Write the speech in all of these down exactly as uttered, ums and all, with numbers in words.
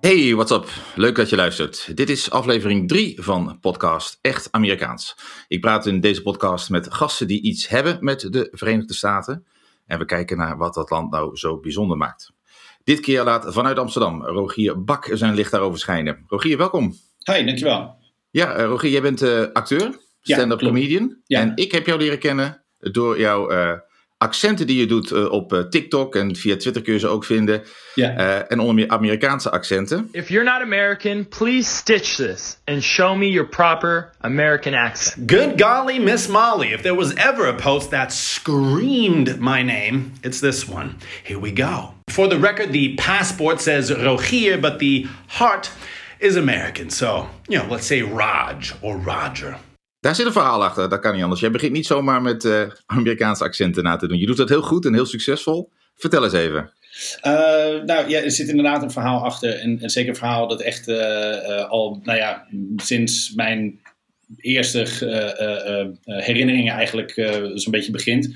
Hey, what's up? Leuk dat je luistert. Dit is aflevering drie van podcast Echt Amerikaans. Ik praat in deze podcast met gasten die iets hebben met de Verenigde Staten. En we kijken naar wat dat land nou zo bijzonder maakt. Dit keer laat vanuit Amsterdam Rogier Bak zijn licht daarover schijnen. Rogier, welkom. Hi, dankjewel. Ja, uh, Rogier, jij bent uh, acteur, stand-up ja, comedian. Ja. En ik heb jou leren kennen door jouw uh, accenten die je doet uh, op uh, TikTok. En via Twitter kun je ze ook vinden. Ja. Uh, en onder meer Amerikaanse accenten. If you're not American, please stitch this and show me your proper American accent. Good golly, Miss Molly, if there was ever a post that screamed my name, it's this one. Here we go. For the record, the passport says Rogier, but the heart is American. So, you know, let's say Raj or Roger. Daar zit een verhaal achter, dat kan niet anders. Jij begint niet zomaar met uh, Amerikaanse accenten na te doen. Je doet dat heel goed en heel succesvol. Vertel eens even. Uh, nou ja, er zit inderdaad een verhaal achter. En, en zeker een verhaal dat echt uh, uh, al, nou ja, sinds mijn eerste uh, uh, uh, herinneringen eigenlijk uh, zo'n beetje begint.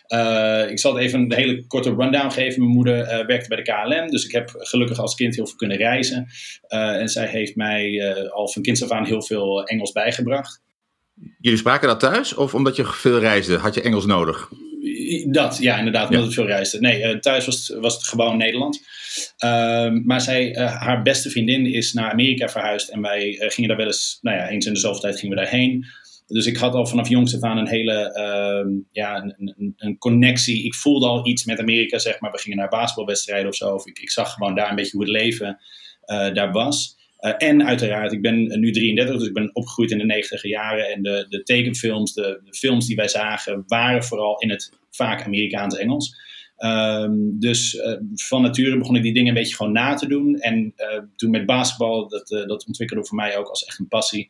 Uh, ik zal het even een hele korte rundown geven. Mijn moeder uh, werkte bij de K L M, dus ik heb gelukkig als kind heel veel kunnen reizen. Uh, en zij heeft mij uh, al van kinds af aan heel veel Engels bijgebracht. Jullie spraken dat thuis of omdat je veel reisde? Had je Engels nodig? Dat, ja, inderdaad, omdat ja. ik veel reisde. Nee, uh, thuis was, was het gewoon Nederlands. Uh, maar zij, uh, haar beste vriendin is naar Amerika verhuisd. En wij uh, gingen daar wel eens, nou ja, eens in de zoveel tijd gingen we daarheen. Dus ik had al vanaf jongs af aan een hele, uh, ja, een, een, een connectie. Ik voelde al iets met Amerika, zeg maar. We gingen naar basketbalwedstrijden of zo. Of ik, ik zag gewoon daar een beetje hoe het leven uh, daar was. Uh, en uiteraard, ik ben nu drieëndertig, dus ik ben opgegroeid in de negentiger jaren. En de, de tekenfilms, de, de films die wij zagen, waren vooral in het vaak Amerikaans-Engels. Um, dus uh, van nature begon ik die dingen een beetje gewoon na te doen. En uh, toen met basketbal, dat, uh, dat ontwikkelde voor mij ook als echt een passie.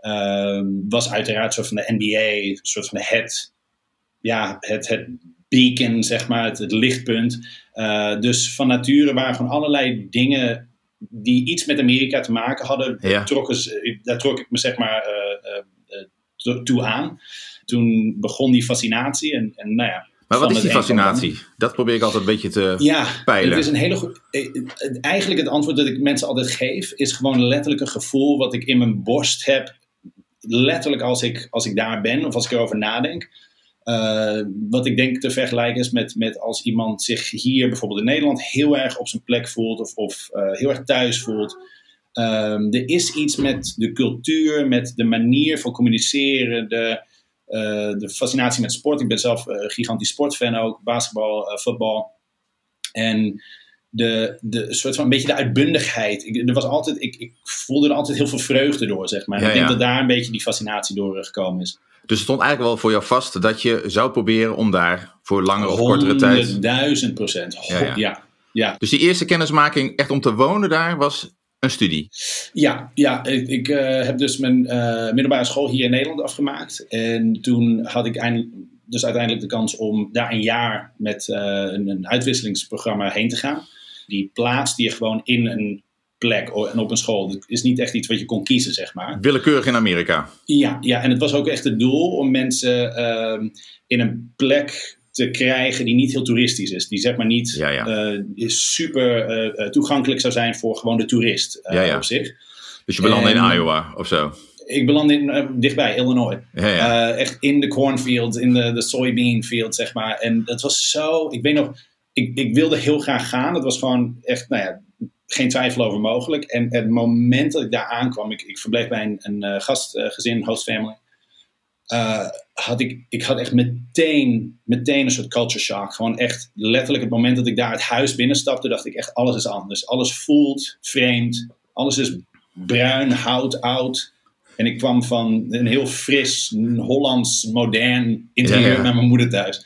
Uh, was uiteraard een soort van de N B A, een soort van het, ja, het, het beacon, zeg maar, het, het lichtpunt. Uh, dus van nature waren gewoon allerlei dingen die iets met Amerika te maken hadden. Ja. Trokken ze, daar trok ik me zeg maar uh, uh, to, toe aan. Toen begon die fascinatie. En, en, nou ja, maar wat is die fascinatie? Dat probeer ik altijd een beetje te ja, peilen. Het is een hele goed. Eigenlijk het antwoord dat ik mensen altijd geef is gewoon letterlijk een gevoel wat ik in mijn borst heb. Letterlijk als ik, als ik daar ben of als ik erover nadenk. Uh, wat ik denk te vergelijken is met, met als iemand zich hier bijvoorbeeld in Nederland heel erg op zijn plek voelt of, of uh, heel erg thuis voelt. Um, er is iets met de cultuur, met de manier van communiceren, de, uh, de fascinatie met sport. Ik ben zelf een uh, gigantisch sportfan ook, basketbal, uh, voetbal. En de, de soort van een beetje de uitbundigheid. Ik, er was altijd, ik, ik voelde er altijd heel veel vreugde door, zeg maar. Ja, ik denk ja. dat daar een beetje die fascinatie door gekomen is. Dus het stond eigenlijk wel voor jou vast dat je zou proberen om daar voor langere of kortere tijd... honderdduizend procent. Ja, ja. ja, ja. Dus die eerste kennismaking echt om te wonen daar was een studie? Ja, ja ik, ik uh, heb dus mijn uh, middelbare school hier in Nederland afgemaakt. En toen had ik eindelijk, dus uiteindelijk de kans om daar een jaar met uh, een, een uitwisselingsprogramma heen te gaan. Die plaatste je gewoon in een plek en op een school. Dat is niet echt iets wat je kon kiezen, zeg maar. Willekeurig in Amerika? Ja, ja, en het was ook echt het doel om mensen uh, in een plek te krijgen die niet heel toeristisch is. Die zeg maar niet ja, ja. Uh, super uh, toegankelijk zou zijn voor gewoon de toerist uh, ja, ja. op zich. Dus je belandde in Iowa of zo? Ik belandde in, uh, dichtbij, Illinois. Ja, ja. Uh, echt in de cornfield, in de, de soybean field, zeg maar. En dat was zo... Ik weet nog, ik, ik wilde heel graag gaan. Dat was gewoon echt, nou ja, geen twijfel over mogelijk. En het moment dat ik daar aankwam, ik, ik verbleef bij een, een uh, gastgezin, uh, host family. Uh, had ik, ik had echt meteen, meteen een soort culture shock. Gewoon echt letterlijk het moment dat ik daar het huis binnenstapte, dacht ik echt, alles is anders. Alles voelt vreemd. Alles is bruin, hout, oud. En ik kwam van een heel fris, Hollands, modern interieur ja, ja. naar mijn moeder thuis.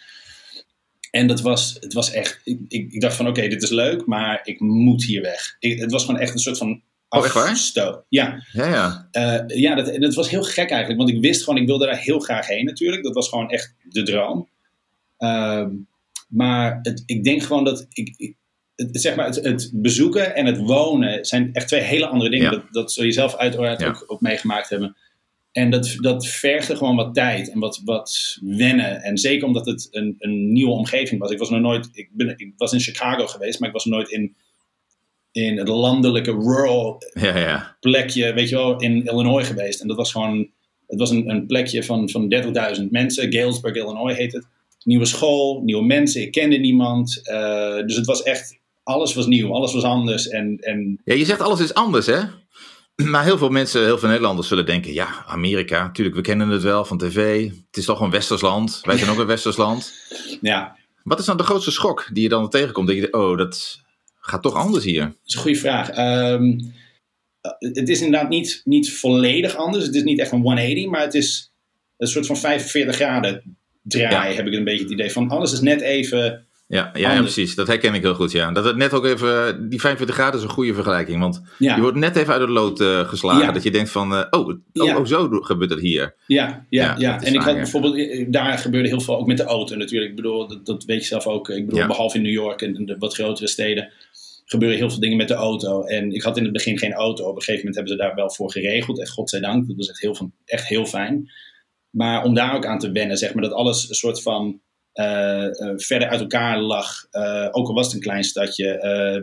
En dat was, het was echt, ik, ik, ik dacht van oké, okay, dit is leuk, maar ik moet hier weg. Ik, het was gewoon echt een soort van Oh, echt waar? Stoot. Ja, ja, ja. Uh, ja dat, dat was heel gek eigenlijk. Want ik wist gewoon, ik wilde daar heel graag heen natuurlijk. Dat was gewoon echt de droom. Uh, maar het, ik denk gewoon dat... Ik, ik, het, zeg maar, het, het bezoeken en het wonen zijn echt twee hele andere dingen. Ja. Dat, dat zul je zelf uiteraard ja. ook, ook meegemaakt hebben. En dat, dat vergde gewoon wat tijd en wat, wat wennen. En zeker omdat het een, een nieuwe omgeving was. Ik was nog nooit... Ik, ben, ik was in Chicago geweest, maar ik was nooit in... in het landelijke rural ja, ja. plekje, weet je wel, in Illinois geweest. En dat was gewoon, het was een, een plekje van, van dertigduizend mensen. Galesburg, Illinois heet het. Nieuwe school, nieuwe mensen, ik kende niemand. Uh, dus het was echt, alles was nieuw, alles was anders. En, en... Ja, je zegt alles is anders, hè? Maar heel veel mensen, heel veel Nederlanders zullen denken, ja, Amerika, natuurlijk, we kennen het wel van tv. Het is toch een westers land. Wij zijn ook een westers land. Ja. Wat is dan de grootste schok die je dan tegenkomt? Dat je denkt, oh, dat gaat toch anders hier? Dat is een goede vraag. Um, het is inderdaad niet, niet volledig anders. Het is niet echt een honderdtachtig, maar het is een soort van vijfenveertig graden draai, ja. Heb ik een beetje het idee van. Alles is net even... Ja, ja, ja, precies. Dat herken ik heel goed, ja. Dat het net ook even, die vijfenveertig graden is een goede vergelijking. Want ja. je wordt net even uit het lood uh, geslagen. Ja. Dat je denkt van, uh, oh, oh, ja. oh, zo gebeurt het hier. Ja, ja, ja. ja. En ik waar, had ja. bijvoorbeeld, daar gebeurde heel veel, ook met de auto natuurlijk. Ik bedoel, dat, dat weet je zelf ook. Ik bedoel, ja. behalve in New York en de wat grotere steden, gebeuren heel veel dingen met de auto. En ik had in het begin geen auto. Op een gegeven moment hebben ze daar wel voor geregeld. En godzijdank, dat was echt heel, echt heel fijn. Maar om daar ook aan te wennen, zeg maar, dat alles een soort van... Uh, uh, verder uit elkaar lag. Uh, ook al was het een klein stadje.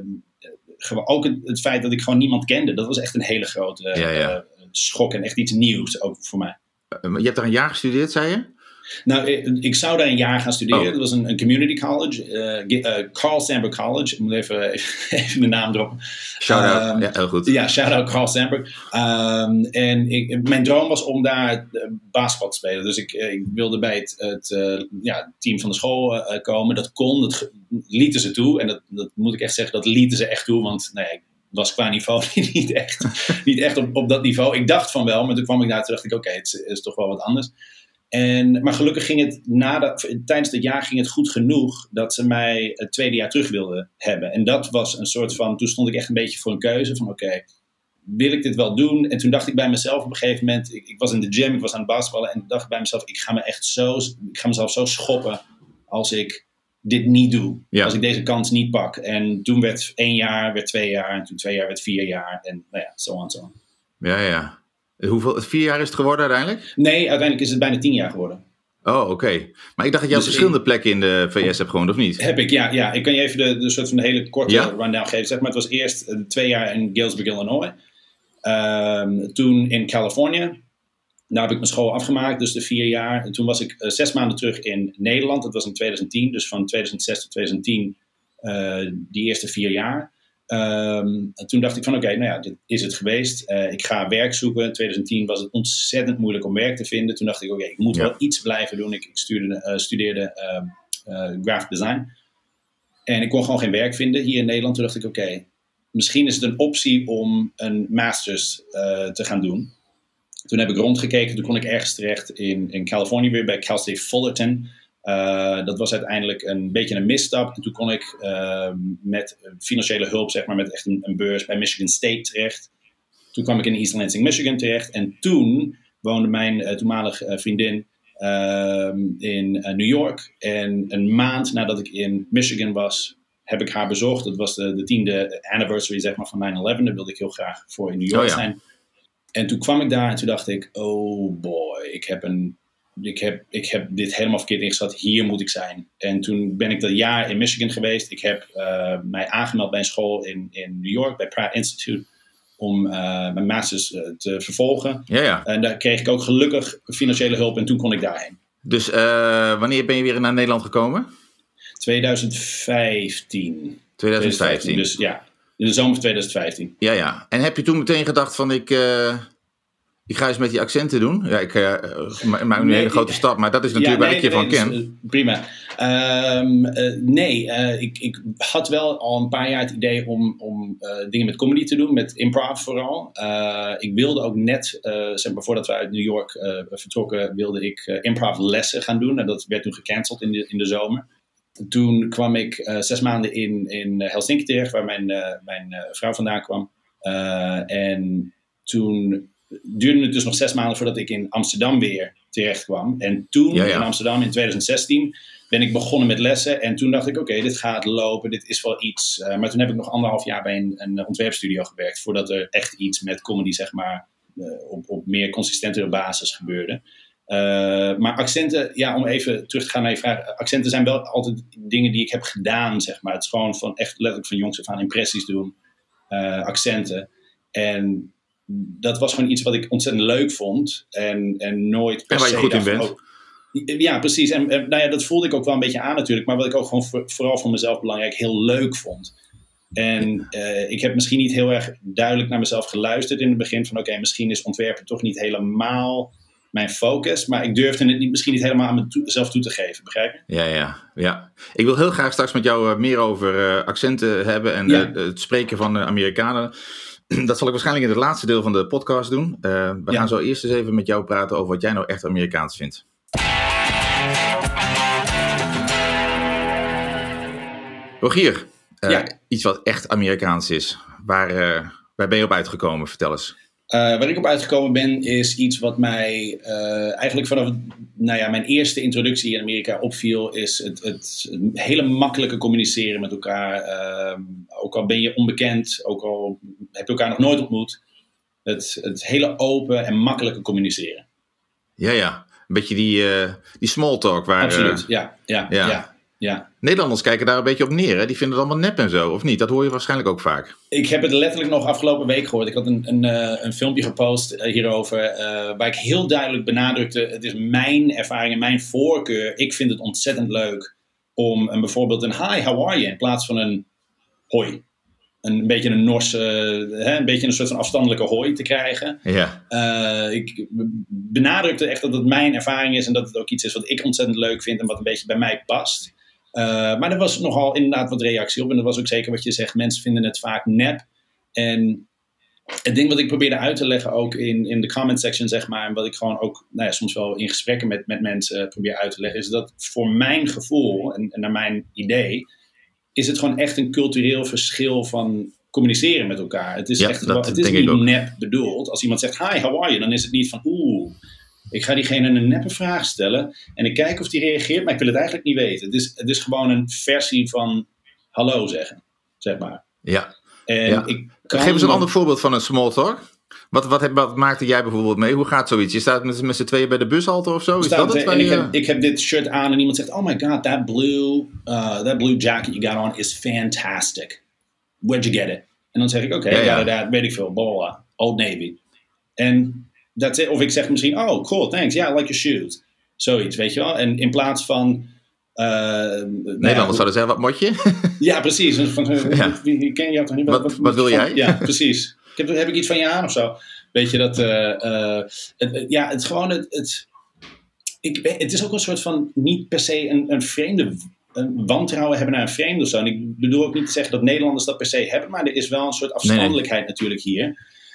Uh, ook het, het feit dat ik gewoon niemand kende. Dat was echt een hele grote uh, ja, ja. Uh, schok. En echt iets nieuws ook voor mij. Uh, je hebt daar een jaar gestudeerd, zei je? Nou, ik, ik zou daar een jaar gaan studeren. Oh. Dat was een, een community college. Uh, uh, Carl Sandburg College. Ik moet even, even, even de naam droppen. Shout-out. Um, ja, heel goed. Ja, shout-out Carl Sandburg. Um, en ik, mijn droom was om daar basketbal te spelen. Dus ik, ik wilde bij het, het uh, ja, team van de school uh, komen. Dat kon. Dat lieten ze toe. En dat, dat moet ik echt zeggen. Dat lieten ze echt toe. Want nee, ik was qua niveau niet echt, niet echt op, op dat niveau. Ik dacht van wel. Maar toen kwam ik daar. Toen dacht ik, oké, okay, het, het is toch wel wat anders. En, maar gelukkig ging het na de, tijdens het jaar ging het goed genoeg dat ze mij het tweede jaar terug wilden hebben. En dat was een soort van, toen stond ik echt een beetje voor een keuze van oké, okay, wil ik dit wel doen? En toen dacht ik bij mezelf op een gegeven moment, ik, ik was in de gym, ik was aan het basketballen en dacht bij mezelf, ik ga me echt zo, ik ga mezelf zo schoppen als ik dit niet doe. Ja. Als ik deze kans niet pak. En toen werd één jaar, werd twee jaar en toen twee jaar werd vier jaar en nou ja, zo en zo. Ja, ja. Hoeveel, vier jaar is het geworden uiteindelijk? Nee, uiteindelijk is het bijna tien jaar geworden. Oh, oké. Okay. Maar ik dacht dat je dus op verschillende ik, plekken in de V S hebt gewoond, of niet? Heb ik, ja. ja. Ik kan je even de, de soort van de hele korte ja? rundown geven. Zeg maar, het was eerst uh, twee jaar in Galesburg, Illinois. Um, toen in Californië. Daar heb ik mijn school afgemaakt, dus de vier jaar. En toen was ik uh, zes maanden terug in Nederland. Dat was in twintig tien, dus van tweeduizend zes tot twintig tien. Uh, die eerste vier jaar. Um, en toen dacht ik van oké, okay, nou ja, dit is het geweest. Uh, ik ga werk zoeken. In twintig tien was het ontzettend moeilijk om werk te vinden. Toen dacht ik oké, okay, ik moet ja. wel iets blijven doen. Ik, ik stuurde, uh, studeerde uh, uh, graphic design. En ik kon gewoon geen werk vinden hier in Nederland. Toen dacht ik oké, okay, misschien is het een optie om een masters uh, te gaan doen. Toen heb ik rondgekeken. Toen kon ik ergens terecht in, in Californië weer bij Cal State Fullerton. Uh, dat was uiteindelijk een beetje een misstap. En toen kon ik uh, met financiële hulp, zeg maar, met echt een, een beurs bij Michigan State terecht. Toen kwam ik in East Lansing, Michigan terecht. En toen woonde mijn uh, toenmalige uh, vriendin uh, in uh, New York. En een maand nadat ik in Michigan was, heb ik haar bezocht. Dat was de, de tiende anniversary, zeg maar, van nine eleven. Daar wilde ik heel graag voor in New York oh, ja. zijn. En toen kwam ik daar en toen dacht ik, oh boy, ik heb een... Ik heb, ik heb dit helemaal verkeerd ingeschat. Hier moet ik zijn. En toen ben ik dat jaar in Michigan geweest. Ik heb uh, mij aangemeld bij een school in, in New York, bij Pratt Institute, om uh, mijn masters uh, te vervolgen. Ja, ja. En daar kreeg ik ook gelukkig financiële hulp en toen kon ik daarheen. Dus uh, wanneer ben je weer naar Nederland gekomen? twintig vijftien. twintig vijftien. Dus ja, in de zomer van twintig vijftien. Ja, ja. En heb je toen meteen gedacht van ik... Uh... Ik ga eens met die accenten doen. Ja, ik uh, maak nu nee, een hele grote stap, maar dat is natuurlijk ja, nee, waar ik je nee, van ken. Uh, prima. Um, uh, nee, uh, ik, ik had wel al een paar jaar het idee om, om uh, dingen met comedy te doen, met improv vooral. Uh, ik wilde ook net, uh, zeg maar voordat we uit New York uh, vertrokken, wilde ik uh, improv lessen gaan doen. En dat werd toen gecanceld in de, in de zomer. Toen kwam ik uh, zes maanden in, in Helsinki terecht, waar mijn, uh, mijn uh, vrouw vandaan kwam. Uh, en toen... duurde het dus nog zes maanden voordat ik in Amsterdam weer terecht kwam. En toen ja, ja. in Amsterdam in twintig zestien ben ik begonnen met lessen. En toen dacht ik, oké, okay, dit gaat lopen, dit is wel iets. Uh, maar toen heb ik nog anderhalf jaar bij een, een ontwerpstudio gewerkt. Voordat er echt iets met comedy, zeg maar, uh, op, op meer consistentere basis gebeurde. Uh, maar accenten, ja, om even terug te gaan naar je vraag. Accenten zijn wel altijd dingen die ik heb gedaan, zeg maar. Het is gewoon van echt letterlijk van jongs af aan impressies doen. uh, accenten. En dat was gewoon iets wat ik ontzettend leuk vond. En, en nooit per en waar je se goed in dacht, bent. Oh, ja, precies. En, en nou ja, dat voelde ik ook wel een beetje aan natuurlijk. Maar wat ik ook gewoon voor, vooral voor mezelf belangrijk heel leuk vond. En uh, ik heb misschien niet heel erg duidelijk naar mezelf geluisterd in het begin. Van oké, okay, misschien is ontwerpen toch niet helemaal mijn focus. Maar ik durfde het niet, misschien niet helemaal aan mezelf toe te geven. Begrijp je? Ja, ja, ja. Ik wil heel graag straks met jou uh, meer over uh, accenten hebben. En ja. uh, het spreken van uh, Amerikanen. Dat zal ik waarschijnlijk in het laatste deel van de podcast doen. Uh, we ja. gaan zo eerst eens even met jou praten over wat jij nou echt Amerikaans vindt. Rogier, uh, ja. iets wat echt Amerikaans is. Waar, uh, waar ben je op uitgekomen? Vertel eens. Uh, waar ik op uitgekomen ben is iets wat mij uh, eigenlijk vanaf nou ja, mijn eerste introductie in Amerika opviel. Is het, het hele makkelijke communiceren met elkaar. Uh, ook al ben je onbekend, ook al heb je elkaar nog nooit ontmoet. Het, het hele open en makkelijke communiceren. Ja, ja. Een beetje die, uh, die small talk. Waar, Absoluut, uh, ja, ja, ja. ja. Ja. Nederlanders kijken daar een beetje op neer. Hè? Die vinden het allemaal nep en zo, of niet? Dat hoor je waarschijnlijk ook vaak. Ik heb het letterlijk nog afgelopen week gehoord. Ik had een, een, uh, een filmpje gepost uh, hierover. Uh, waar ik heel duidelijk benadrukte. Het is mijn ervaring en mijn voorkeur. Ik vind het ontzettend leuk om een, bijvoorbeeld een hi, how are you? In plaats van een hoi. Een, een beetje een Norse, uh, hè, een beetje een soort van afstandelijke hoi te krijgen. Ja. Uh, ik benadrukte echt dat het mijn ervaring is. En dat het ook iets is wat ik ontzettend leuk vind. En wat een beetje bij mij past. Uh, maar er was nogal inderdaad wat reactie op. En dat was ook zeker wat je zegt. Mensen vinden het vaak nep. En het ding wat ik probeerde uit te leggen ook in, in de comment section, zeg maar. En wat ik gewoon ook nou ja, soms wel in gesprekken met, met mensen probeer uit te leggen. Is dat voor mijn gevoel en, en naar mijn idee. Is het gewoon echt een cultureel verschil van communiceren met elkaar. Het is, ja, echt, het is niet nep bedoeld. Als iemand zegt hi, how are you? Dan is het niet van oeh. Ik ga diegene een neppe vraag stellen en ik kijk of die reageert, maar ik wil het eigenlijk niet weten. Het is, het is gewoon een versie van hallo zeggen, zeg maar. Ja. En ja. Ik kan Geef eens een ander voorbeeld van een small talk. Wat, wat, heb, wat maakte jij bijvoorbeeld mee? Hoe gaat zoiets? Je staat met, met z'n tweeën bij de bushalte of zo? Is dat het? En je... ik, heb, ik heb dit shirt aan en iemand zegt, oh my god, that blue, uh, that blue jacket you got on is fantastic. Where'd you get it? En dan zeg ik, oké, okay, ja, ja. that, weet ik veel, blah, blah, Old Navy. En that's it. Of ik zeg misschien, oh cool, thanks, yeah, I like your shoes. Zoiets, weet je wel. En in plaats van... Uh, Nederlanders nou ja, zouden zeggen, wat moet je? Ja, precies. Van, ja. Wie, wie ken je toch niet? Wat, wat, wat wil van, jij? Ja, precies. Ik heb, heb ik iets van je aan of zo? Weet je dat... Uh, uh, het, ja, het gewoon... Het, het, ik, het is ook een soort van... Niet per se een, een vreemde... Een wantrouwen hebben naar een vreemde of zo. En ik bedoel ook niet te zeggen dat Nederlanders dat per se hebben. Maar er is wel een soort afstandelijkheid nee. natuurlijk hier.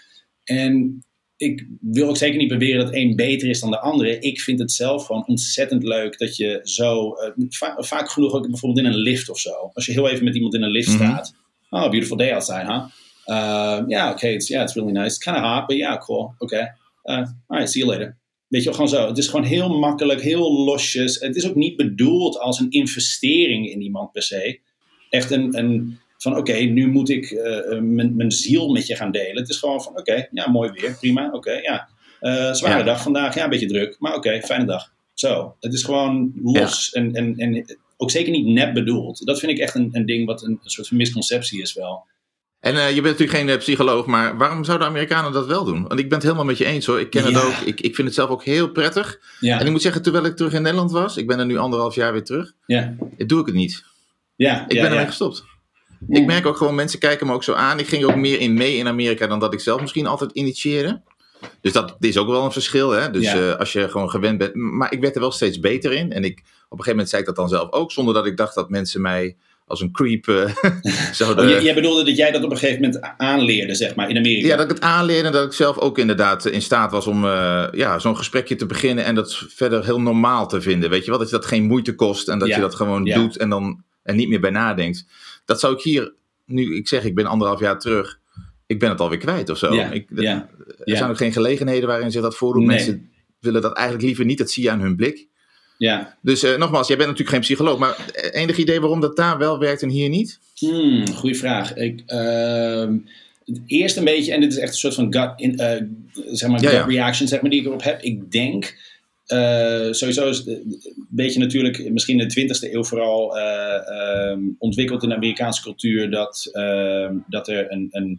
En... Ik wil ook zeker niet beweren dat één beter is dan de andere. Ik vind het zelf gewoon ontzettend leuk dat je zo... Uh, va- vaak genoeg ook bijvoorbeeld in een lift of zo. Als je heel even met iemand in een lift mm-hmm. staat. Oh, beautiful day outside, huh? Ja, uh, yeah, okay, it's, yeah, it's really nice. It's kind of hot, but yeah, cool. Okay. Uh, alright, see you later. Weet je wel, gewoon zo. Het is gewoon heel makkelijk, heel losjes. Het is ook niet bedoeld als een investering in iemand per se. Echt een... een van oké, okay, nu moet ik uh, mijn, mijn ziel met je gaan delen. Het is gewoon van oké, okay, ja, mooi weer, prima, oké, okay, ja. Uh, zware ja. dag vandaag, ja, een beetje druk, maar oké, okay, fijne dag. Zo, het is gewoon los ja. en, en, en ook zeker niet nep bedoeld. Dat vind ik echt een, een ding wat een, een soort van misconceptie is wel. En uh, je bent natuurlijk geen uh, psycholoog, maar waarom zouden Amerikanen dat wel doen? Want ik ben het helemaal met je eens hoor. Ik ken ja. het ook, ik, ik vind het zelf ook heel prettig. Ja. En ik moet zeggen, terwijl ik terug in Nederland was, ik ben er nu anderhalf jaar weer terug, ja. doe ik het niet. Ja, ik ja, ben ermee ja. gestopt. Ik merk ook gewoon, mensen kijken me ook zo aan. Ik ging ook meer in mee in Amerika dan dat ik zelf misschien altijd initieerde. Dus dat is ook wel een verschil. Hè? Dus ja. uh, als je gewoon gewend bent. Maar ik werd er wel steeds beter in. En ik, op een gegeven moment zei ik dat dan zelf ook. Zonder dat ik dacht dat mensen mij als een creep uh, zouden... Oh, jij bedoelde dat jij dat op een gegeven moment aanleerde, zeg maar, in Amerika? Ja, dat ik het aanleerde en dat ik zelf ook inderdaad in staat was om uh, ja, zo'n gesprekje te beginnen. En dat verder heel normaal te vinden. Weet je wel? Dat je dat geen moeite kost. En dat ja. je dat gewoon ja. doet en dan er niet meer bij nadenkt. Dat zou ik hier, nu ik zeg ik ben anderhalf jaar terug, ik ben het alweer kwijt of zo. Ja, ik, ja, er ja. zijn ook geen gelegenheden waarin zich dat voordoet. Nee. Mensen willen dat eigenlijk liever niet, dat zie je aan hun blik. Ja. Dus uh, nogmaals, jij bent natuurlijk geen psycholoog, maar enig idee waarom dat daar wel werkt en hier niet? Hmm, goeie vraag. Ik, uh, eerst een beetje, en dit is echt een soort van gut, in, uh, zeg maar, ja, gut ja. reaction zeg maar, die ik erop heb. Ik denk... Uh, sowieso is het een beetje natuurlijk misschien in de twintigste eeuw vooral uh, um, ontwikkeld in de Amerikaanse cultuur dat, uh, dat er een, een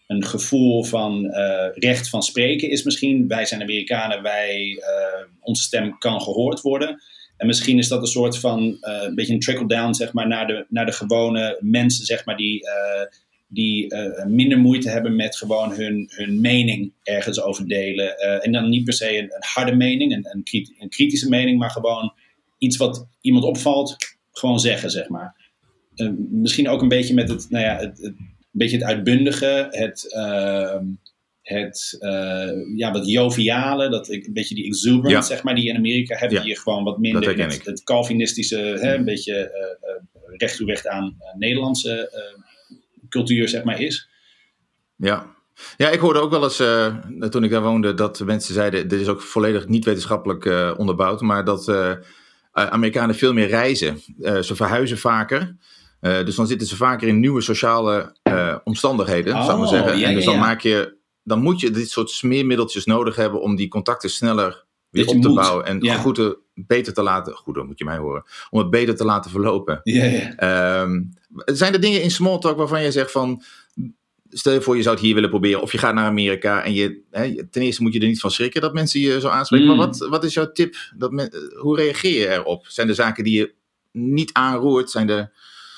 een gevoel van uh, recht van spreken is misschien. Wij zijn Amerikanen, wij, uh, onze stem kan gehoord worden. En misschien is dat een soort van, uh, een beetje een trickle-down, zeg maar, naar de, naar de gewone mensen, zeg maar, die, uh, die uh, minder moeite hebben met gewoon hun, hun mening ergens over delen. Uh, en dan niet per se een, een harde mening, een, een, kriti- een kritische mening, maar gewoon iets wat iemand opvalt, gewoon zeggen, zeg maar. Uh, misschien ook een beetje met het, nou ja, het, het een beetje het uitbundige, het, uh, het uh, ja, wat joviale, dat, een beetje die exuberance, ja. zeg maar, die je in Amerika hebt, ja. die je gewoon wat minder het, het Calvinistische, hè, een beetje uh, uh, recht toe recht aan uh, Nederlandse uh, cultuur, zeg maar, is. Ja. Ja, ik hoorde ook wel eens, uh, toen ik daar woonde, dat mensen zeiden, dit is ook volledig niet wetenschappelijk uh, onderbouwd, maar dat uh, Amerikanen veel meer reizen. Uh, ze verhuizen vaker. Uh, dus dan zitten ze vaker in nieuwe sociale uh, omstandigheden, oh, zou ik maar zeggen. Ja, en dus dan, ja, ja. maak je, dan moet je dit soort smeermiddeltjes nodig hebben om die contacten sneller weer op te moet. bouwen. En ja. goed, beter te laten, goed, dan moet je mij horen, om het beter te laten verlopen. Ja, ja. Um, zijn er dingen in small talk waarvan je zegt van, stel je voor je zou het hier willen proberen, of je gaat naar Amerika en je, hè, ten eerste moet je er niet van schrikken dat mensen je zo aanspreken. Mm. Maar wat, wat is jouw tip? Dat men, hoe reageer je erop? Zijn er zaken die je niet aanroert? Zijn er...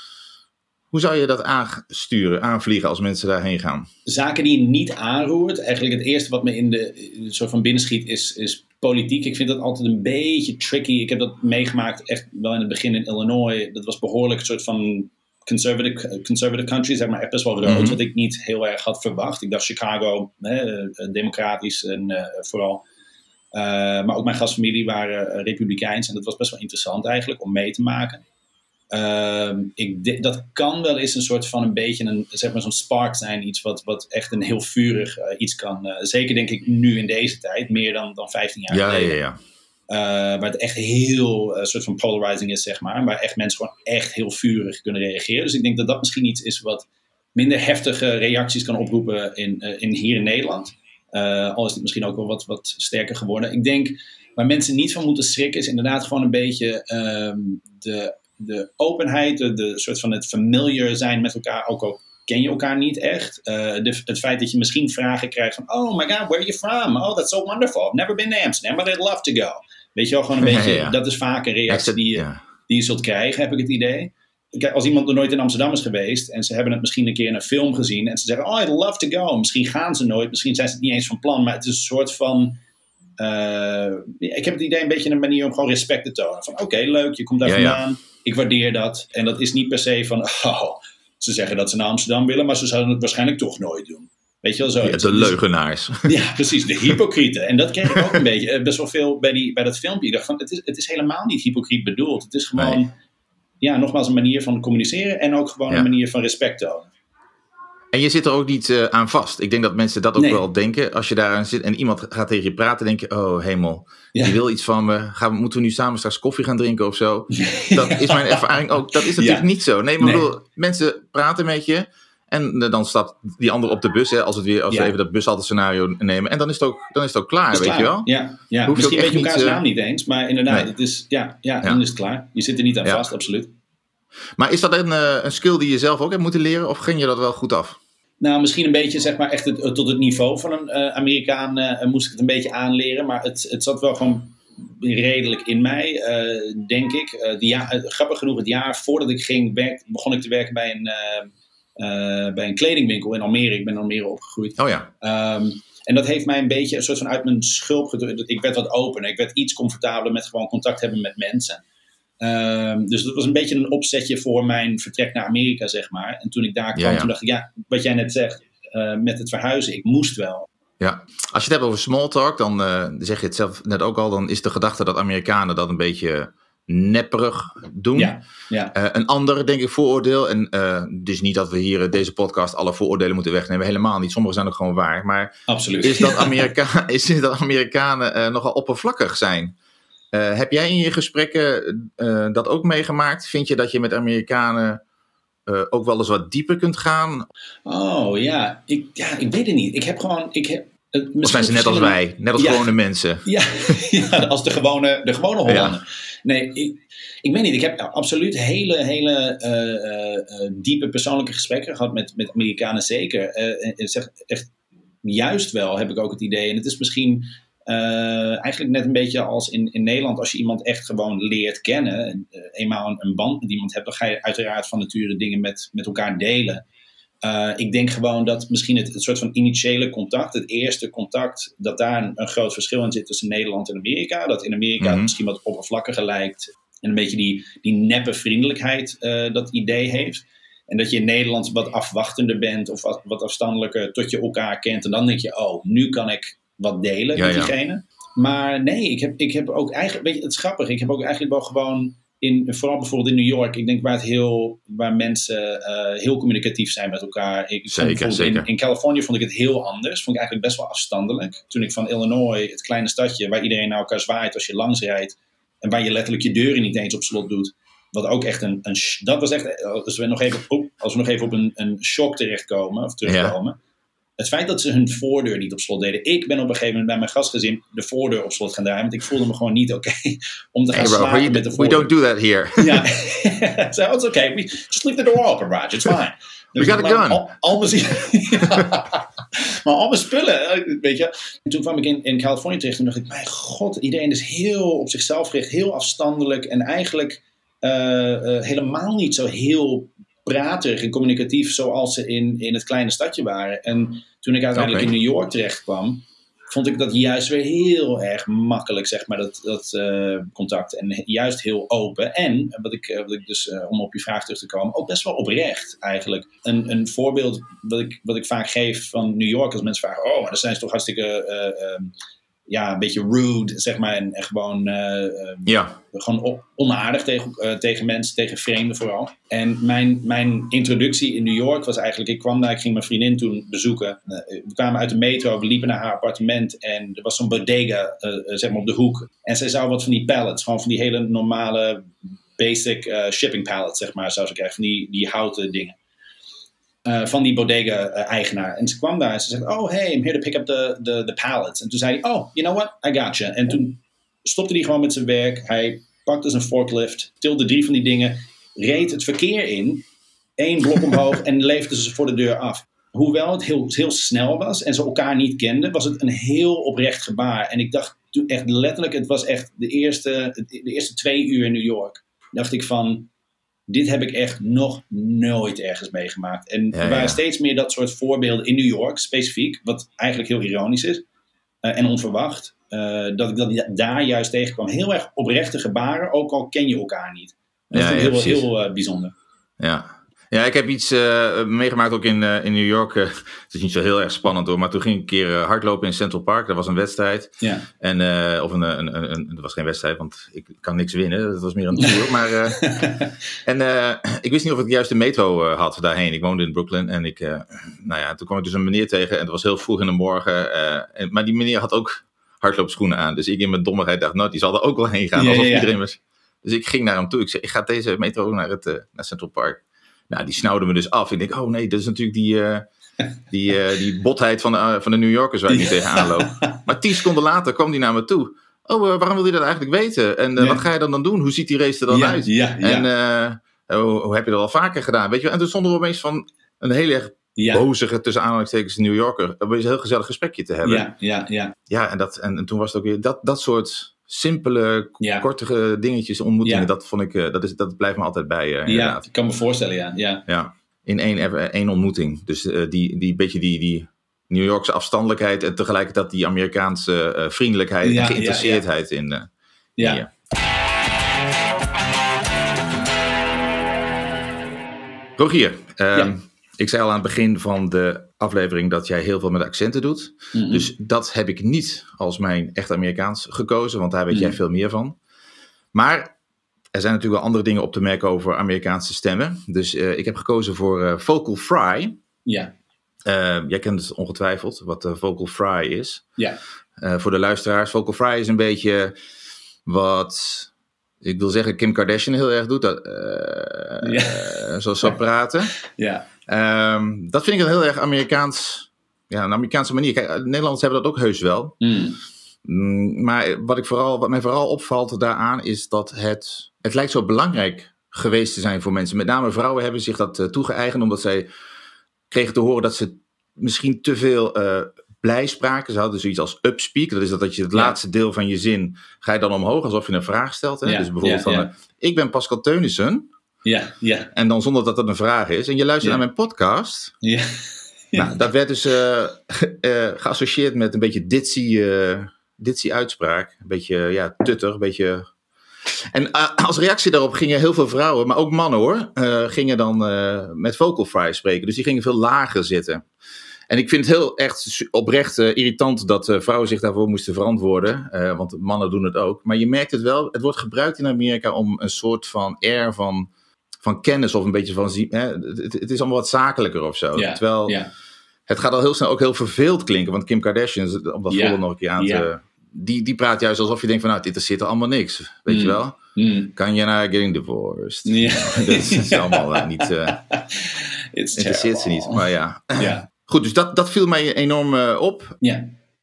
Hoe zou je dat aansturen, aanvliegen als mensen daarheen gaan? Zaken die je niet aanroert. Eigenlijk het eerste wat me in de, in de soort van binnenschiet is, is politiek. Ik vind dat altijd een beetje tricky. Ik heb dat meegemaakt echt wel in het begin in Illinois. Dat was behoorlijk een soort van conservative, conservative country, zeg maar, echt best wel rood. Mm-hmm. Wat ik niet heel erg had verwacht. Ik dacht Chicago, hè, democratisch en uh, vooral. Uh, maar ook mijn gastfamilie waren uh, republikeins. En dat was best wel interessant eigenlijk om mee te maken. Uh, ik de, dat kan wel eens een soort van een beetje een, zeg maar zo'n spark zijn. Iets wat, wat echt een heel vurig uh, iets kan. Uh, zeker denk ik nu in deze tijd. Meer dan, dan vijftien jaar ja, geleden. Ja, ja. Uh, waar het echt heel uh, soort van polarizing is, zeg maar. Waar echt mensen gewoon echt heel vurig kunnen reageren. Dus ik denk dat dat misschien iets is wat minder heftige reacties kan oproepen in, uh, in hier in Nederland. Uh, al is het misschien ook wel wat, wat sterker geworden. Ik denk waar mensen niet van moeten schrikken is inderdaad gewoon een beetje um, de... de openheid, de, de soort van het familiar zijn met elkaar, ook al ken je elkaar niet echt. Uh, de, het feit dat je misschien vragen krijgt van, oh my god, where are you from? Oh, that's so wonderful. I've never been to Amsterdam, but I'd love to go. Weet je wel, gewoon een beetje, ja, ja. dat is vaak een reactie die je, ja. die je zult krijgen, heb ik het idee. Kijk, als iemand nog nooit in Amsterdam is geweest en ze hebben het misschien een keer in een film gezien en ze zeggen, oh, I'd love to go. Misschien gaan ze nooit, misschien zijn ze het niet eens van plan, maar het is een soort van... Uh, ik heb het idee een beetje een manier om gewoon respect te tonen. Van oké, okay, leuk, je komt daar ja, vandaan. Ja. Ik waardeer dat. En dat is niet per se van, oh, ze zeggen dat ze naar Amsterdam willen, maar ze zouden het waarschijnlijk toch nooit doen. Weet je wel zo? Ja, de leugenaars. Ja, precies, de hypocrieten. En dat kreeg ik ook een beetje, best wel veel bij, die, bij dat filmpje. Ik dacht van, het is, het is helemaal niet hypocriet bedoeld. Het is gewoon, nee. ja, nogmaals een manier van communiceren en ook gewoon ja. een manier van respect tonen. En je zit er ook niet uh, aan vast. Ik denk dat mensen dat ook nee. wel denken. Als je daar aan zit en iemand gaat tegen je praten, denk je, oh hemel, ja. die wil iets van me. Gaan we, moeten we nu samen straks koffie gaan drinken of zo? Dat is mijn ervaring ook. Dat is natuurlijk ja. niet zo. Nee, maar nee. bedoel, mensen praten met je en uh, dan stapt die ander op de bus, hè, als, het weer, als ja. we even dat bushalte-scenario nemen. En dan is het ook, dan is het ook klaar, weet klaar. je wel? Ja, ja. Je misschien weet je elkaars naam niet eens, maar inderdaad, nee. het is, ja, ja, ja, dan is het klaar. Je zit er niet aan ja. vast, absoluut. Maar is dat een, uh, een skill die je zelf ook hebt moeten leren of ging je dat wel goed af? Nou, misschien een beetje, zeg maar, echt het, tot het niveau van een uh, Amerikaan uh, moest ik het een beetje aanleren. Maar het, het zat wel gewoon redelijk in mij, uh, denk ik. Uh, die ja, uh, grappig genoeg, het jaar voordat ik ging, werk, begon ik te werken bij een, uh, uh, bij een kledingwinkel in Almere. Ik ben in Almere opgegroeid. Oh ja. Um, en dat heeft mij een beetje een soort van uit mijn schulp gedrukt. Ik werd wat opener. Ik werd iets comfortabeler met gewoon contact hebben met mensen. Um, dus dat was een beetje een opzetje voor mijn vertrek naar Amerika, zeg maar. En toen ik daar kwam, ja, ja. toen dacht ik, ja, wat jij net zegt, uh, met het verhuizen, ik moest wel. Ja, als je het hebt over small talk, dan uh, zeg je het zelf net ook al, dan is de gedachte dat Amerikanen dat een beetje nepperig doen. Ja, ja. Uh, een ander, denk ik, vooroordeel, en uh, dus niet dat we hier uh, deze podcast alle vooroordelen moeten wegnemen, helemaal niet. Sommige zijn ook gewoon waar, maar absoluut. Is dat, Amerika- is dat Amerikanen uh, nogal oppervlakkig zijn? Uh, heb jij in je gesprekken uh, dat ook meegemaakt? Vind je dat je met Amerikanen uh, ook wel eens wat dieper kunt gaan? Oh ja, ik, ja, ik weet het niet. Ik heb gewoon... Ik heb, uh, of zijn ze net als wij? Net als ja, gewone mensen? Ja, ja, als de gewone, de gewone Hollander. Nee, ik, ik weet niet. Ik heb absoluut hele, hele uh, uh, diepe persoonlijke gesprekken gehad met, met Amerikanen zeker. Uh, en zeg, echt, juist wel heb ik ook het idee. En het is misschien uh, eigenlijk net een beetje als in, in Nederland. Als je iemand echt gewoon leert kennen. Uh, eenmaal een, een band met iemand hebt. Dan ga je uiteraard van nature dingen met, met elkaar delen. Uh, ik denk gewoon dat misschien het, het soort van initiële contact, het eerste contact, dat daar een, een groot verschil in zit tussen Nederland en Amerika. Dat in Amerika mm-hmm. het misschien wat oppervlakkiger lijkt en een beetje die, die neppe vriendelijkheid uh, dat idee heeft. En dat je in Nederland wat afwachtender bent of wat, wat afstandelijker tot je elkaar kent. En dan denk je, oh, nu kan ik wat delen ja, met diegene. Ja. Maar nee, ik heb, ik heb ook eigenlijk, weet je, het is grappig, ik heb ook eigenlijk wel gewoon In, vooral bijvoorbeeld in New York, ik denk waar, het heel, waar mensen uh, heel communicatief zijn met elkaar. Ik, zeker, zeker. In, in Californië vond ik het heel anders. Vond ik eigenlijk best wel afstandelijk. Toen ik van Illinois, het kleine stadje, waar iedereen naar elkaar zwaait als je langs rijdt. En waar je letterlijk je deuren niet eens op slot doet. Wat ook echt een, een dat was echt, als we nog even op, als we nog even op een, een shock terechtkomen, of terugkomen. Ja. Het feit dat ze hun voordeur niet op slot deden. Ik ben op een gegeven moment bij mijn gastgezin de voordeur op slot gaan draaien. Want ik voelde me gewoon niet oké okay om te gaan hey bro, slapen we, met de voordeur. We don't do that here. Ja, so it's okay. We just leave the door open, Raj. It's fine. Dus we got a gun. Al, al mijn, ja, maar al mijn spullen, weet je. En toen kwam ik in, in Californië terecht en dacht ik, mijn god, iedereen is heel op zichzelf gericht. Heel afstandelijk en eigenlijk uh, uh, helemaal niet zo heel praterig en communicatief zoals ze in, in het kleine stadje waren. En toen ik uiteindelijk okay. in New York terecht kwam, vond ik dat juist weer heel erg makkelijk, zeg maar, dat, dat uh, contact. En juist heel open. En, wat ik, wat ik dus, uh, om op je vraag terug te komen, ook best wel oprecht eigenlijk. Een, een voorbeeld wat ik, wat ik vaak geef van New York, als mensen vragen, oh, maar dan zijn ze toch hartstikke Uh, uh, ja, een beetje rude, zeg maar, en, en gewoon, uh, uh, ja. gewoon op, onaardig tegen, uh, tegen mensen, tegen vreemden vooral. En mijn, mijn introductie in New York was eigenlijk, ik kwam daar, ik ging mijn vriendin toen bezoeken. Uh, we kwamen uit de metro, we liepen naar haar appartement en er was zo'n bodega, uh, uh, zeg maar, op de hoek. En zij zou wat van die pallets, gewoon van die hele normale basic uh, shipping pallets, zeg maar, zou ze krijgen, van die, die houten dingen. Uh, van die bodega-eigenaar. En ze kwam daar en ze zegt, oh hey, I'm here to pick up the, the, the pallets. En toen zei hij, oh, you know what, I got you. En toen stopte hij gewoon met zijn werk. Hij pakte zijn forklift, tilde drie van die dingen, reed het verkeer in, één blok omhoog en leefde ze voor de deur af. Hoewel het heel, heel snel was en ze elkaar niet kenden, was het een heel oprecht gebaar. En ik dacht toen echt letterlijk, het was echt de eerste, de eerste twee uur in New York, dacht ik van, dit heb ik echt nog nooit ergens meegemaakt. En ja, er waren ja. steeds meer dat soort voorbeelden in New York, specifiek, wat eigenlijk heel ironisch is uh, en onverwacht. Uh, dat ik dat daar juist tegenkwam. Heel erg oprechte gebaren, ook al ken je elkaar niet. Dat ja, is ja, heel, heel uh, bijzonder. Ja. Ja, ik heb iets uh, meegemaakt ook in, uh, in New York. Uh, het is niet zo heel erg spannend hoor, maar toen ging ik een keer uh, hardlopen in Central Park. Dat was een wedstrijd. Ja. En, uh, of een, een, een, een, dat was geen wedstrijd, want ik kan niks winnen. Dat was meer een tour. maar, uh, en uh, ik wist niet of ik de juiste metro uh, had daarheen. Ik woonde in Brooklyn en ik, uh, nou ja, toen kwam ik dus een meneer tegen. En het was heel vroeg in de morgen. Uh, en, maar die meneer had ook hardloopschoenen aan. Dus ik in mijn dommigheid dacht, nou, die zal er ook wel heen gaan. Ja, alsof ja, ja. iedereen was. Dus ik ging naar hem toe. Ik zei, ik ga deze metro naar, het, uh, naar Central Park. Nou, die snauwde me dus af. Ik denk, oh nee, dat is natuurlijk die, uh, die, uh, die botheid van de, uh, van de New Yorkers waar ik nu tegenaan loop. Maar tien seconden later kwam die naar me toe. Oh, uh, waarom wil je dat eigenlijk weten? En uh, ja. wat ga je dan dan doen? Hoe ziet die race er dan ja, uit? Ja, ja. En uh, hoe, hoe heb je dat al vaker gedaan? Weet je? En toen stonden we opeens van een heel erg ja. bozige, tussen aanhalingstekens, New Yorker. Opeens een heel gezellig gesprekje te hebben. Ja, ja, ja. Ja, en, dat, en, en toen was het ook weer dat, dat soort simpele, ja. korte dingetjes, ontmoetingen. Ja. Dat vond ik, uh, dat, is, dat blijft me altijd bij. Uh, ja, ik kan me voorstellen, ja. ja. ja. In één, één ontmoeting. Dus uh, die, die beetje die, die New Yorkse afstandelijkheid en tegelijkertijd die Amerikaanse uh, vriendelijkheid ja, en geïnteresseerdheid ja, ja. in. Uh, ja. in Rogier, uh, ja. ik zei al aan het begin van de aflevering dat jij heel veel met accenten doet. Mm-hmm. Dus dat heb ik niet als mijn echt Amerikaans gekozen, want daar weet mm-hmm. jij veel meer van. Maar er zijn natuurlijk wel andere dingen op te merken over Amerikaanse stemmen. Dus uh, ik heb gekozen voor uh, vocal fry. Ja. Uh, jij kent het ongetwijfeld, wat uh, vocal fry is. Ja. Uh, voor de luisteraars, vocal fry is een beetje wat, ik wil zeggen, Kim Kardashian heel erg doet. Dat, uh, ja. uh, zo, zo praten. Ja. Um, dat vind ik een heel erg Amerikaans, ja, een Amerikaanse manier. Kijk, Nederlanders hebben dat ook heus wel. Mm. Mm, maar wat, ik vooral, wat mij vooral opvalt daaraan is dat het, het lijkt zo belangrijk geweest te zijn voor mensen. Met name vrouwen hebben zich dat uh, toegeëigend omdat zij kregen te horen dat ze misschien te veel uh, blij spraken. Ze hadden zoiets als upspeak. Dat is dat, dat je het ja. laatste deel van je zin ga je dan omhoog alsof je een vraag stelt. Hè? Ja, dus bijvoorbeeld ja, van, ja. Uh, ik ben Pascal Teunissen. Ja, ja. En dan zonder dat dat een vraag is. En je luistert ja. naar mijn podcast. Ja. Ja. Nou, dat werd dus uh, uh, geassocieerd met een beetje ditzy, uh, ditzy uitspraak. Een beetje ja, tutter, een beetje... En uh, als reactie daarop gingen heel veel vrouwen, maar ook mannen hoor, uh, gingen dan uh, met vocal fry spreken. Dus die gingen veel lager zitten. En ik vind het heel echt oprecht uh, irritant dat uh, vrouwen zich daarvoor moesten verantwoorden. Uh, want mannen doen het ook. Maar je merkt het wel, het wordt gebruikt in Amerika om een soort van air van... van kennis of een beetje van... Hè, het, het is allemaal wat zakelijker of zo. Ja, Terwijl ja. het gaat al heel snel ook heel verveeld klinken. Want Kim Kardashian, om dat ja, volgende nog een keer aan te... Ja. Die, die praat juist alsof je denkt van... nou, dit interesseert er allemaal niks. Weet mm. je wel? Mm. Kan je naar getting divorced? Ja. Dat is allemaal uh, niet... Uh, interesseert ze niet. Maar ja. ja. Goed, dus dat, dat viel mij enorm uh, op. Ja.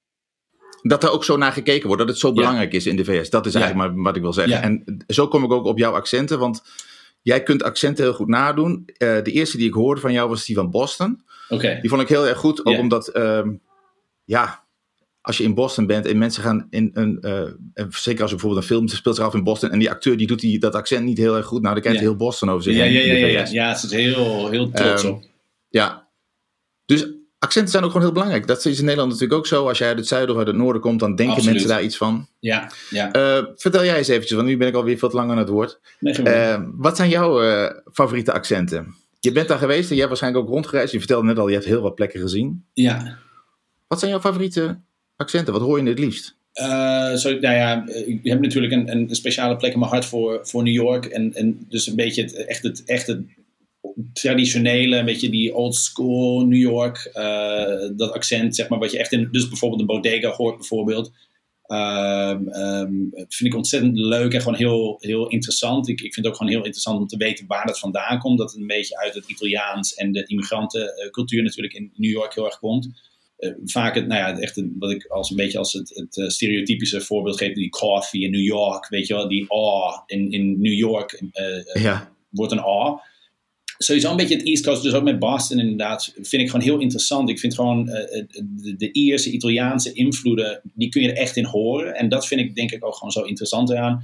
Dat er ook zo naar gekeken wordt. Dat het zo belangrijk ja. is in de V S. Dat is ja. eigenlijk maar wat ik wil zeggen. Ja. En zo kom ik ook op jouw accenten. Want... jij kunt accenten heel goed nadoen. Uh, de eerste die ik hoorde van jou was die van Boston. Okay. Die vond ik heel erg goed. Ook yeah. omdat, um, ja, als je in Boston bent en mensen gaan in een... Uh, zeker als je bijvoorbeeld een film speelt zich af in Boston... en die acteur die doet die, dat accent niet heel erg goed. Nou, dan krijgt hij yeah. heel Boston over zich ja, heen. Ja, ja, ja, ja. ja, het is heel, heel trots um, op. Ja. Dus accenten zijn ook gewoon heel belangrijk. Dat is in Nederland natuurlijk ook zo. Als jij uit het zuiden of uit het noorden komt... dan denken Absoluut. mensen daar iets van. Ja, ja. Uh, vertel jij eens eventjes, want nu ben ik alweer veel te lang aan het woord. Nee, uh, wat zijn jouw uh, favoriete accenten? Je bent daar geweest en je hebt waarschijnlijk ook rondgereisd. Je vertelde net al, je hebt heel wat plekken gezien. Ja. Wat zijn jouw favoriete accenten? Wat hoor je het liefst? Uh, zo, nou ja, ik heb natuurlijk een, een speciale plek in mijn hart voor, voor New York. En, en dus een beetje het, echt het... Echt het traditionele, een beetje die old school New York, uh, dat accent, zeg maar, wat je echt in, dus bijvoorbeeld een bodega hoort bijvoorbeeld, um, um, vind ik ontzettend leuk en gewoon heel, heel interessant. Ik, ik vind het ook gewoon heel interessant om te weten waar dat vandaan komt, dat het een beetje uit het Italiaans en de immigrantencultuur natuurlijk in New York heel erg komt. Uh, vaak het, nou ja, echt een, wat ik als een beetje als het, het uh, stereotypische voorbeeld geef, die coffee in New York, weet je wel, die ah in, in New York uh, ja. wordt een ah. Sowieso een beetje het East Coast, dus ook met Boston inderdaad, vind ik gewoon heel interessant. Ik vind gewoon uh, de, de Ierse, Italiaanse invloeden, die kun je er echt in horen. En dat vind ik denk ik ook gewoon zo interessant eraan.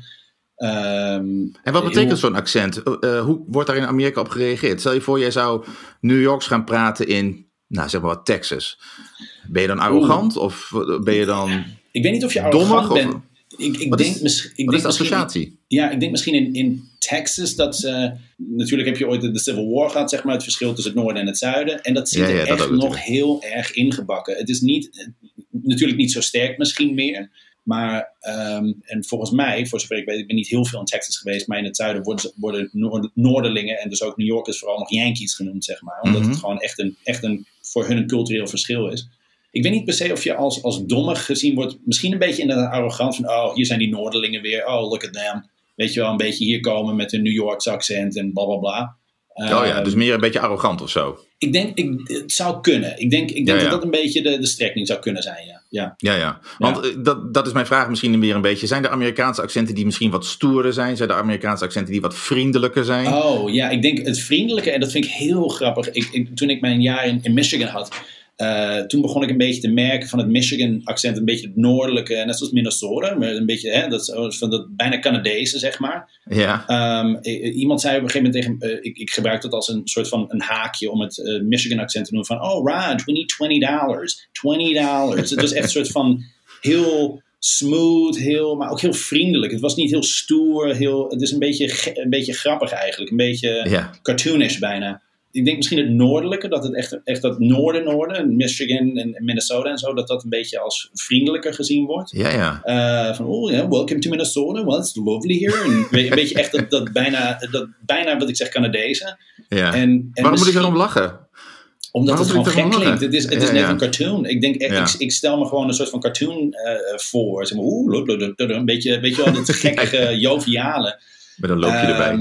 Um, en wat betekent hoe, zo'n accent? Uh, hoe wordt daar in Amerika op gereageerd? Stel je voor, jij zou New Yorks gaan praten in, nou zeg maar wat, Texas. Ben je dan arrogant oeh. of ben je dan Ik weet niet of je arrogant dommig, bent. Of, ik, ik wat denk, is, mis, ik wat denk is de associatie? Misschien, ja, ik denk misschien in, in Texas dat ze... Natuurlijk heb je ooit de, de Civil War gehad, zeg maar, het verschil tussen het noorden en het zuiden. En dat zit ja, ja, er dat echt nog heel erg ingebakken. Het is niet, natuurlijk niet zo sterk misschien meer. Maar, um, en volgens mij, voor zover ik weet, ik ben niet heel veel in Texas geweest. Maar in het zuiden worden, worden noord, Noorderlingen en dus ook New Yorkers vooral nog Yankees genoemd, zeg maar. Omdat mm-hmm. het gewoon echt, een, echt een, voor hun een cultureel verschil is. Ik weet niet per se of je als, als dommig gezien wordt. Misschien een beetje inderdaad arrogant van, oh, hier zijn die Noorderlingen weer. Oh, look at them. Weet je wel, een beetje hier komen met een New Yorkse accent en bla bla bla. Oh ja, dus meer een beetje arrogant of zo. Ik denk, ik, het zou kunnen. Ik denk, ik denk ja, ja. dat dat een beetje de, de strekking zou kunnen zijn, ja. Ja, ja, ja. Want ja. Dat, dat is mijn vraag misschien weer een beetje. Zijn er Amerikaanse accenten die misschien wat stoerder zijn? Zijn er Amerikaanse accenten die wat vriendelijker zijn? Oh ja, ik denk het vriendelijke, en dat vind ik heel grappig. Ik, ik, toen ik mijn jaar in, in Michigan had... Uh, toen begon ik een beetje te merken van het Michigan accent, een beetje het noordelijke, net zoals Minnesota, maar een beetje hè, dat, van dat bijna Canadese, zeg maar. Ja. Um, iemand zei op een gegeven moment tegen, uh, ik, ik gebruik dat als een soort van een haakje om het uh, Michigan accent te noemen van, oh Raj, we need twenty dollars, twenty dollars. Het was echt een soort van heel smooth, heel, maar ook heel vriendelijk. Het was niet heel stoer, heel, het is een beetje, een beetje grappig eigenlijk, een beetje ja. cartoonish bijna. Ik denk misschien het noordelijke, dat het echt, echt dat noorden-noorden, Michigan en Minnesota en zo, dat dat een beetje als vriendelijker gezien wordt. Ja, ja. Uh, van, oh ja, yeah, welcome to Minnesota, well, it's lovely here. En een beetje echt dat, dat, bijna, dat bijna, wat ik zeg, Canadese. Ja. En, en waarom moet ik erom lachen? Omdat waarom het gewoon gek klinkt. Het is, het is ja, net ja. een cartoon. Ik denk echt, ja. ik, ik stel me gewoon een soort van cartoon uh, voor. Zeg maar, oeh, een beetje, weet je wel, dat gekkige, joviale. Met een loopje uh, erbij, ja.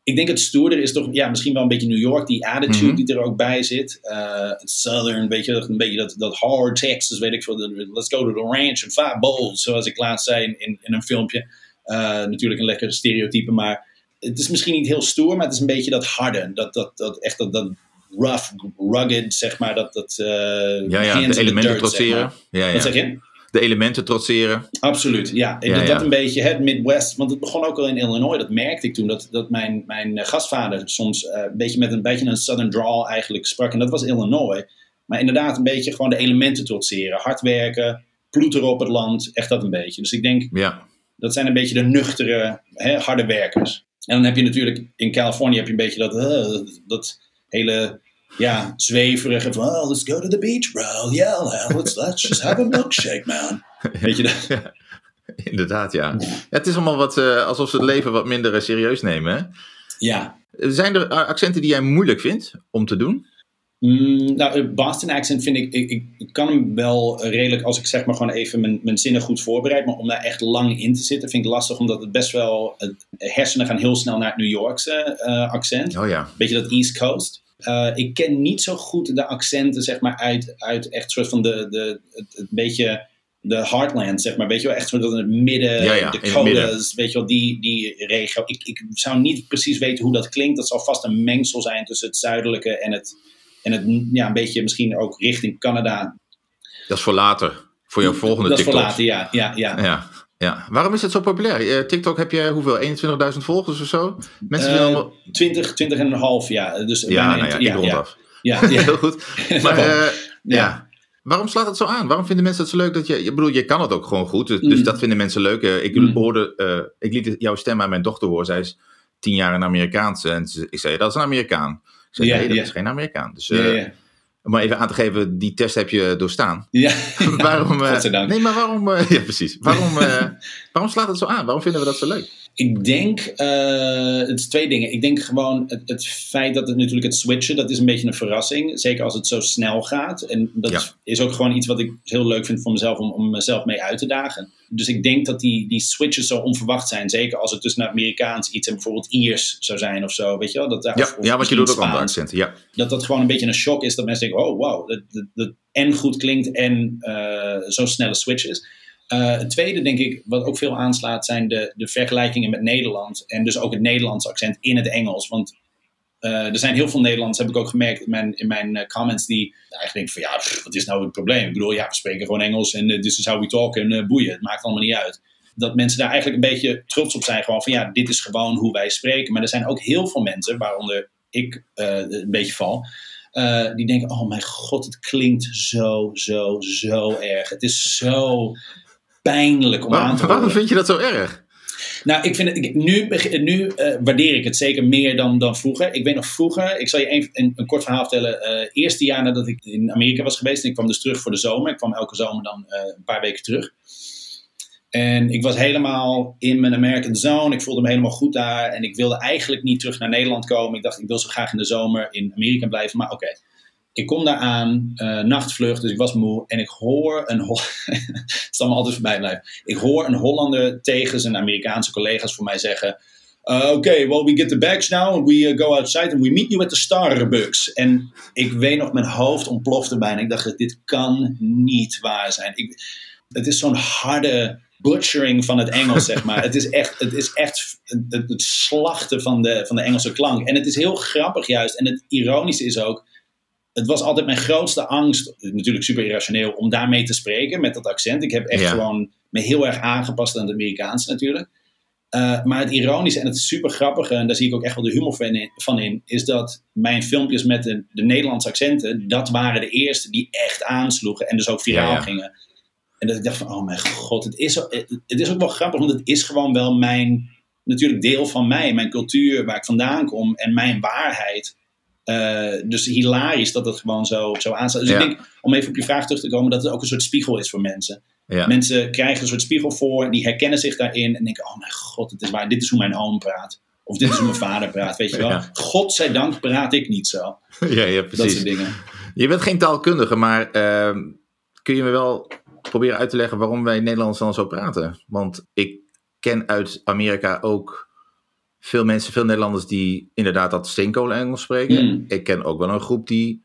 Ik denk het stoerder is toch ja, misschien wel een beetje New York. Die attitude Mm-hmm. die er ook bij zit. Uh, het Southern, weet je, een beetje dat, dat hard Texas, weet ik veel. Let's go to the ranch and five bowls. Zoals ik laatst zei in, in, in een filmpje. Uh, natuurlijk een lekker stereotype, maar het is misschien niet heel stoer, maar het is een beetje dat harde. Dat, dat, dat echt dat, dat rough, rugged, zeg maar. Dat, dat, uh, ja, ja, de elementen trotseren. Zeg maar. ja, ja. Wat zeg je? De elementen trotseren. Absoluut, ja. En ja, dat, ja. dat een beetje, het Midwest, want het begon ook al in Illinois, dat merkte ik toen, dat, dat mijn, mijn gastvader soms uh, een beetje met een beetje een southern drawl eigenlijk sprak. En dat was Illinois. Maar inderdaad een beetje gewoon de elementen trotseren. Hard werken, ploeteren op het land, echt dat een beetje. Dus ik denk, ja. dat zijn een beetje de nuchtere, hè, harde werkers. En dan heb je natuurlijk, in Californië heb je een beetje dat, uh, dat hele... Ja, zweverige van, oh, let's go to the beach, bro. Yeah, let's, let's just have a milkshake, man. Weet je dat? Ja, inderdaad, ja. ja. Het is allemaal wat, uh, alsof ze het leven wat minder uh, serieus nemen, hè? Ja. Zijn er accenten die jij moeilijk vindt om te doen? Mm, nou, Boston accent vind ik, ik, ik kan hem wel redelijk, als ik zeg maar gewoon even mijn, mijn zinnen goed voorbereid, maar om daar echt lang in te zitten vind ik lastig, omdat het best wel, het hersenen gaan heel snel naar het New Yorkse uh, accent. Oh ja. Beetje dat East Coast. Uh, ik ken niet zo goed de accenten, zeg maar, uit, uit echt soort van de, de, het, het beetje de heartland, zeg maar. Weet je wel, echt soort van het midden, ja, ja, de Dakotas, weet je wel, die, die regio. Ik, ik zou niet precies weten hoe dat klinkt. Dat zal vast een mengsel zijn tussen het zuidelijke en het, en het ja, een beetje misschien ook richting Canada. Dat is voor later, voor jouw volgende TikTok. Dat is TikTok. voor later, ja. ja, ja. ja. Ja, waarom is het zo populair? Uh, TikTok heb je hoeveel? eenentwintigduizend volgers of zo? Mensen uh, willen allemaal... twintig, twintig en een half, ja. Dus ja, nou ja, ik rond af. Ja, ja. Heel goed. Maar uh, ja. ja. Waarom slaat het zo aan? Waarom vinden mensen het zo leuk dat je... Ik bedoel, je kan het ook gewoon goed, dus, mm. dus dat vinden mensen leuk. Uh, ik, mm. hoorde, uh, ik liet jouw stem aan mijn dochter horen. Zij is tien jaar een Amerikaanse. En ze, ik zei, dat is een Amerikaan. Ik zei, ja, nee, dat ja. is geen Amerikaan. Dus... Uh, ja, ja. Om maar even aan te geven, die test heb je doorstaan. Ja, waarom, uh, godzijdank. Nee, maar waarom... Uh, ja, precies. Waarom, uh, waarom slaat het zo aan? Waarom vinden we dat zo leuk? Ik denk, uh, het is twee dingen. Ik denk gewoon het, het feit dat het natuurlijk het switchen, dat is een beetje een verrassing. Zeker als het zo snel gaat. En dat ja. is ook gewoon iets wat ik heel leuk vind voor mezelf om, om mezelf mee uit te dagen. Dus ik denk dat die, die switches zo onverwacht zijn. Zeker als het tussen Amerikaans iets en bijvoorbeeld Iers zou zijn of zo. Weet je wel? Dat, ja, of, of ja, want je doet ook andere accenten. Ja. Dat dat gewoon een beetje een shock is. Dat mensen denken, oh wow, dat, dat, dat en goed klinkt en uh, zo'n snelle switch is. Uh, het tweede, denk ik, wat ook veel aanslaat, zijn de, de vergelijkingen met Nederland. En dus ook het Nederlandse accent in het Engels. Want uh, er zijn heel veel Nederlanders, heb ik ook gemerkt in mijn, in mijn uh, comments, die eigenlijk denken van ja, pff, wat is nou het probleem? Ik bedoel, ja, we spreken gewoon Engels en uh, this is how we talk en uh, boeien. Het maakt allemaal niet uit. Dat mensen daar eigenlijk een beetje trots op zijn. Gewoon van ja, dit is gewoon hoe wij spreken. Maar er zijn ook heel veel mensen, waaronder ik uh, een beetje val... Uh, die denken, oh mijn god, het klinkt zo, zo, zo erg. Het is zo pijnlijk om Waar, aan te horen. Waarom vind je dat zo erg? Nou, ik vind het, ik, nu, nu uh, waardeer ik het zeker meer dan, dan vroeger. Ik weet nog vroeger, ik zal je een, een, een kort verhaal vertellen. Uh, eerste jaar nadat ik in Amerika was geweest en ik kwam dus terug voor de zomer. Ik kwam elke zomer dan uh, een paar weken terug. En ik was helemaal in mijn American zone. Ik voelde me helemaal goed daar. En ik wilde eigenlijk niet terug naar Nederland komen. Ik dacht, ik wil zo graag in de zomer in Amerika blijven. Maar oké, okay. Ik kom daar aan, uh, nachtvlucht, dus ik was moe. En ik hoor een... Ho- het zal me altijd voorbij blijven. Ik hoor een Hollander tegen zijn Amerikaanse collega's voor mij zeggen... Uh, Oké, okay, well, we get the bags now and we uh, go outside and we meet you at the Starbucks. En ik weet nog, mijn hoofd ontplofte bijna. Ik dacht, dit kan niet waar zijn. Ik, het is zo'n harde... butchering van het Engels, zeg maar. Het is echt, het, is echt het, het slachten van de, van de Engelse klank. En het is heel grappig juist. En het ironische is ook... Het was altijd mijn grootste angst, natuurlijk super irrationeel, om daarmee te spreken met dat accent. Ik heb echt ja. gewoon me heel erg aangepast aan het Amerikaanse natuurlijk. Uh, maar het ironische en het super grappige, en daar zie ik ook echt wel de humor van in, van in is dat mijn filmpjes met de, de Nederlandse accenten, dat waren de eerste die echt aansloegen en dus ook viraal ja, ja. gingen. En dat ik dacht van, oh mijn god, het is, het is ook wel grappig, want het is gewoon wel mijn, natuurlijk deel van mij, mijn cultuur, waar ik vandaan kom en mijn waarheid. Uh, dus hilarisch dat het gewoon zo, zo aanstaat. Dus ja. ik denk, om even op je vraag terug te komen, dat het ook een soort spiegel is voor mensen. Ja. Mensen krijgen een soort spiegel voor, die herkennen zich daarin en denken, oh mijn god, het is waar, dit is hoe mijn oom praat. Of dit is hoe mijn vader praat, weet je wel. Ja. Godzijdank praat ik niet zo. Ja, ja, precies. Dat soort dingen. Je bent geen taalkundige, maar uh, kun je me wel proberen uit te leggen waarom wij Nederlands dan zo praten? Want ik ken uit Amerika ook veel mensen, veel Nederlanders die inderdaad dat steenkolen-Engels spreken. Mm. Ik ken ook wel een groep die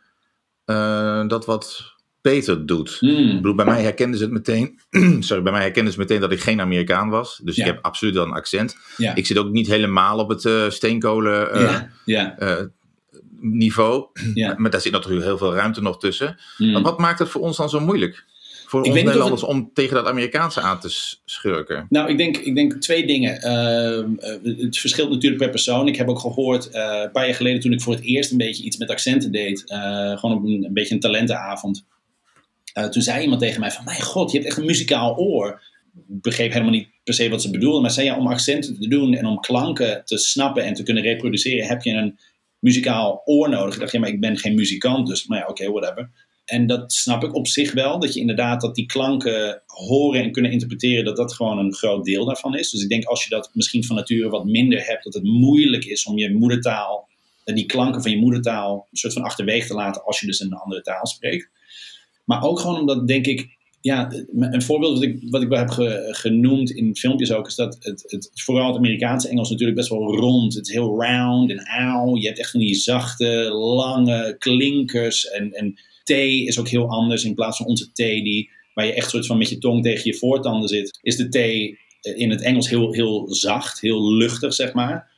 uh, dat wat beter doet. Mm. Ik bedoel, bij mij herkenden ze het meteen. Sorry, bij mij herkenden ze meteen dat ik geen Amerikaan was. Dus ja. ik heb absoluut wel een accent. Ja. Ik zit ook niet helemaal op het uh, steenkolen uh, ja. Ja. Uh, niveau. Ja. Maar daar zit natuurlijk heel veel ruimte nog tussen. Mm. Maar wat maakt het voor ons dan zo moeilijk? Voor ik ons Nederlanders het... om tegen dat Amerikaanse aan te schurken? Nou, ik denk, ik denk twee dingen. Uh, uh, het verschilt natuurlijk per persoon. Ik heb ook gehoord, uh, een paar jaar geleden toen ik voor het eerst een beetje iets met accenten deed. Uh, gewoon op een, een beetje een talentenavond. Uh, toen zei iemand tegen mij van, mijn god, je hebt echt een muzikaal oor. Ik begreep helemaal niet per se wat ze bedoelden. Maar zei ja, om accenten te doen en om klanken te snappen en te kunnen reproduceren, heb je een muzikaal oor nodig. Ik dacht, ja, maar ik ben geen muzikant, dus maar ja, oké, okay, whatever. En dat snap ik op zich wel, dat je inderdaad dat die klanken horen en kunnen interpreteren, dat dat gewoon een groot deel daarvan is. Dus ik denk als je dat misschien van nature wat minder hebt, dat het moeilijk is om je moedertaal, die klanken van je moedertaal, een soort van achterwege te laten als je dus een andere taal spreekt. Maar ook gewoon omdat, denk ik, ja, een voorbeeld wat ik, wat ik wel heb ge, genoemd in filmpjes ook, is dat het, het, vooral het Amerikaanse Engels natuurlijk best wel rond. Het is heel round en auw. Je hebt echt van die zachte, lange klinkers en, en T is ook heel anders. In plaats van onze T, die, waar je echt soort van met je tong tegen je voortanden zit, is de T in het Engels heel, heel zacht, heel luchtig, zeg maar.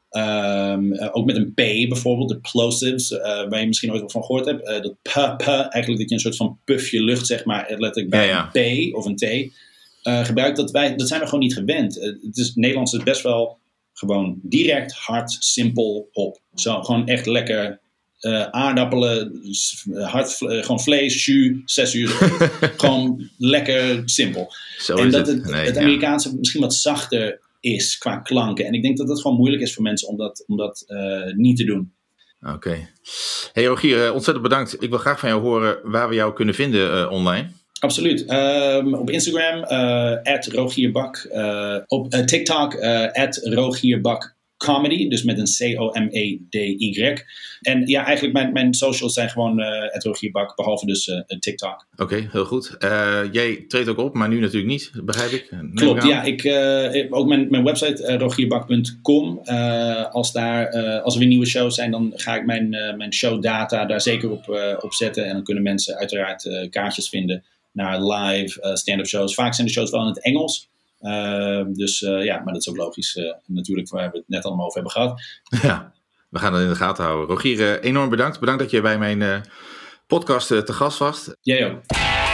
Um, uh, ook met een P bijvoorbeeld, de plosives, uh, waar je misschien ooit wel van gehoord hebt. Uh, dat p, p, eigenlijk dat je een soort van puffje lucht, zeg maar, letterlijk bij ja, ja. een P of een T uh, gebruikt. Dat, wij, dat zijn we gewoon niet gewend. Uh, het is, Nederlands is best wel gewoon direct, hard, simpel, hop. Zo, gewoon echt lekker uh, aardappelen, hard, uh, gewoon vlees, jus, zes uur. Gewoon lekker simpel. Zo en is dat het, het, nee, het Amerikaanse ja. misschien wat zachter is qua klanken. En ik denk dat het gewoon moeilijk is voor mensen om dat, om dat uh, niet te doen. Oké. Okay. Hey Rogier, ontzettend bedankt. Ik wil graag van jou horen waar we jou kunnen vinden uh, online. Absoluut. Um, op Instagram, at uh, Rogierbak. Uh, op uh, TikTok, at uh, Rogierbak Comedy. Dus met een C O M E D Y. En ja, eigenlijk mijn, mijn socials zijn gewoon uh, at Rogierbak, behalve dus uh, TikTok. Oké, okay, heel goed. Uh, jij treedt ook op, maar nu natuurlijk niet, begrijp ik. Neem Klopt, ja. Ik, uh, ook mijn, mijn website, uh, rogierbak punt com. Uh, als, daar, uh, als er weer nieuwe shows zijn, dan ga ik mijn, uh, mijn showdata daar zeker op, uh, op zetten. En dan kunnen mensen uiteraard uh, kaartjes vinden naar live uh, stand-up shows. Vaak zijn de shows wel in het Engels. Uh, dus uh, ja, maar dat is ook logisch. Uh, natuurlijk, waar we het net allemaal over hebben gehad. Ja, we gaan dat in de gaten houden. Rogier, uh, enorm bedankt. Bedankt dat je bij mijn uh, podcast uh, te gast was. Jij ook.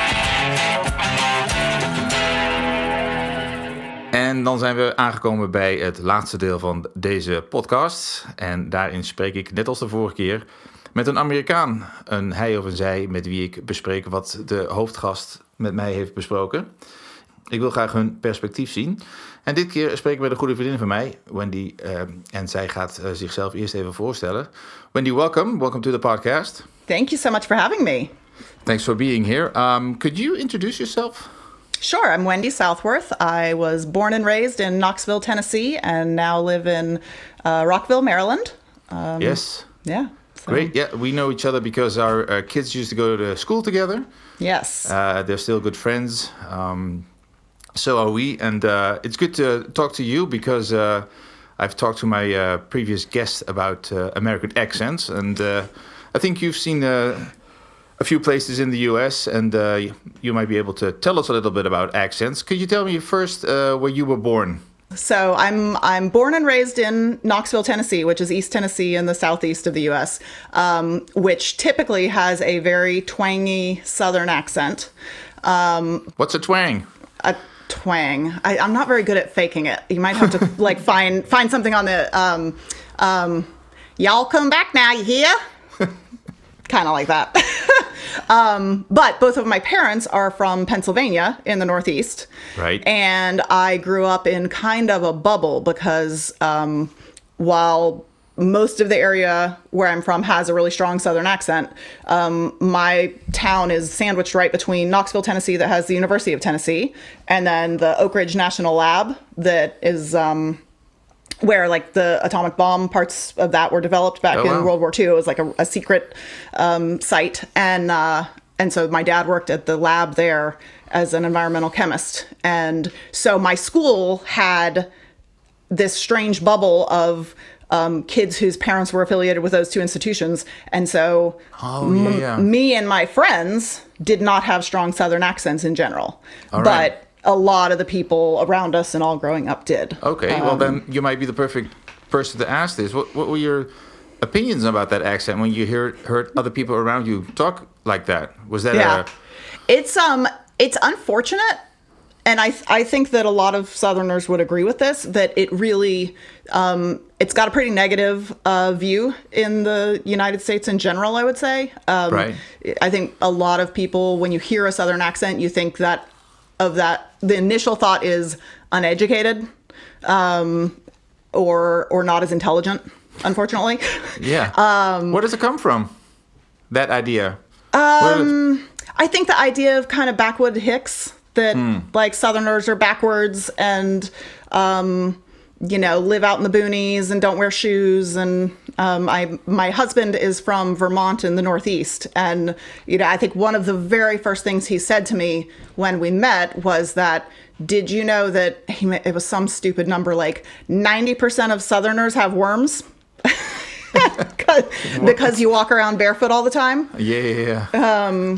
En dan zijn we aangekomen bij het laatste deel van deze podcast. En daarin spreek ik, net als de vorige keer, met een Amerikaan. Een hij of een zij met wie ik bespreek wat de hoofdgast met mij heeft besproken. Ik wil graag hun perspectief zien. En dit keer spreek ik met een goede vriendin van mij, Wendy. Uh, en zij gaat uh, zichzelf eerst even voorstellen. Wendy, welcome. Welcome to the podcast. Thank you so much for having me. Thanks for being here. Um, could you introduce yourself? Sure. I'm Wendy Southworth. I was born and raised in Knoxville, Tennessee, and now live in uh, Rockville, Maryland. Um, yes. Yeah. So. Great. Yeah, we know each other because our uh, kids used to go to school together. Yes. Uh, they're still good friends. Um, So are we, and uh, it's good to talk to you because uh, I've talked to my uh, previous guest about uh, American accents, and uh, I think you've seen uh, a few places in the U S, and uh, you might be able to tell us a little bit about accents. Could you tell me first uh, where you were born? So I'm I'm born and raised in Knoxville, Tennessee, which is East Tennessee in the southeast of the U S, um, which typically has a very twangy Southern accent. Um, What's a twang? A twang. I, I'm not very good at faking it. You might have to like find find something on the um, um, y'all come back now, you hear? Kind of like that. um, but both of my parents are from Pennsylvania in the Northeast. Right. And I grew up in kind of a bubble because um, while most of the area where I'm from has a really strong Southern accent, Um, my town is sandwiched right between Knoxville, Tennessee, that has the University of Tennessee, and then the Oak Ridge National Lab that is um, where like the atomic bomb parts of that were developed back oh, in wow. World War Two. It was like a, a secret um, site. And, uh, and so my dad worked at the lab there as an environmental chemist. And so my school had this strange bubble of um, kids whose parents were affiliated with those two institutions. And so oh, yeah, yeah. M- me and my friends did not have strong Southern accents in general. All but right. a lot of the people around us and all growing up did. Okay, Um, well then you might be the perfect person to ask this. What, what were your opinions about that accent when you heard, heard other people around you talk like that? Was that Yeah. a... It's um it's unfortunate, and I I think that a lot of Southerners would agree with this, that it really um it's got a pretty negative uh, view in the United States in general, I would say. Um, Right. I think a lot of people, when you hear a Southern accent, you think that of that the initial thought is uneducated, um, or or not as intelligent, unfortunately. Yeah. Um, Where does it come from, that idea? Um, I think the idea of kind of backwood hicks, that like Southerners are backwards and, um, you know, live out in the boonies and don't wear shoes. And um, I, my husband is from Vermont in the Northeast. And, you know, I think one of the very first things he said to me when we met was that, did you know that he, it was some stupid number, like ninety percent of Southerners have worms? Because you walk around barefoot all the time. Yeah, yeah, yeah.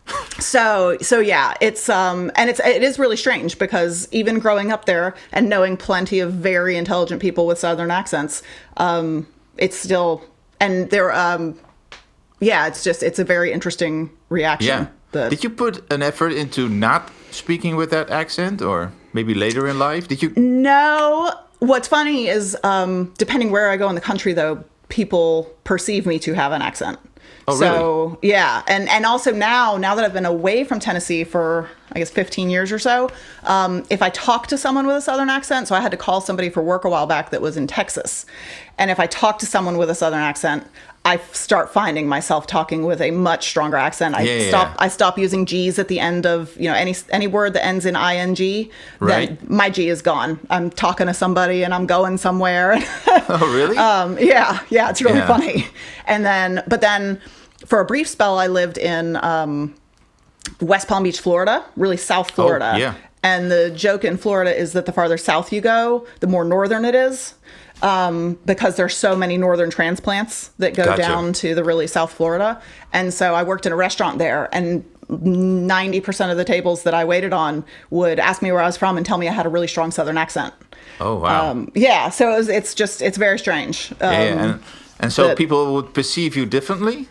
So, so yeah, it's, um, and it's, it is really strange because even growing up there and knowing plenty of very intelligent people with Southern accents, um, it's still, and they're, um, yeah, it's just, it's a very interesting reaction. Yeah. that- Did you put an effort into not speaking with that accent, or maybe later in life? Did you? No. What's funny is, um, depending where I go in the country, though, people perceive me to have an accent. Oh, so, really? yeah. And, and also now, now that I've been away from Tennessee for, I guess, fifteen years or so, um, if I talk to someone with a Southern accent, so I had to call somebody for work a while back that was in Texas. And if I talk to someone with a Southern accent, I start finding myself talking with a much stronger accent. I Yeah, yeah, stop. yeah. I stop using G's at the end of, you know, any any word that ends in ing. Right. Then my G is gone. I'm talking to somebody and I'm going somewhere. Oh, really? um, yeah, yeah, it's really Yeah. funny. And then, but then, for a brief spell, I lived in um, West Palm Beach, Florida, really South Florida. yeah. And the joke in Florida is that the farther south you go, the more northern it is. Um, because there's so many northern transplants that go Gotcha. down to the really South Florida. And so I worked in a restaurant there, and ninety percent of the tables that I waited on would ask me where I was from and tell me I had a really strong Southern accent. Oh, wow. Um, yeah, so it was, it's just, it's very strange. Um, yeah, yeah. And, and so but- people would perceive you differently?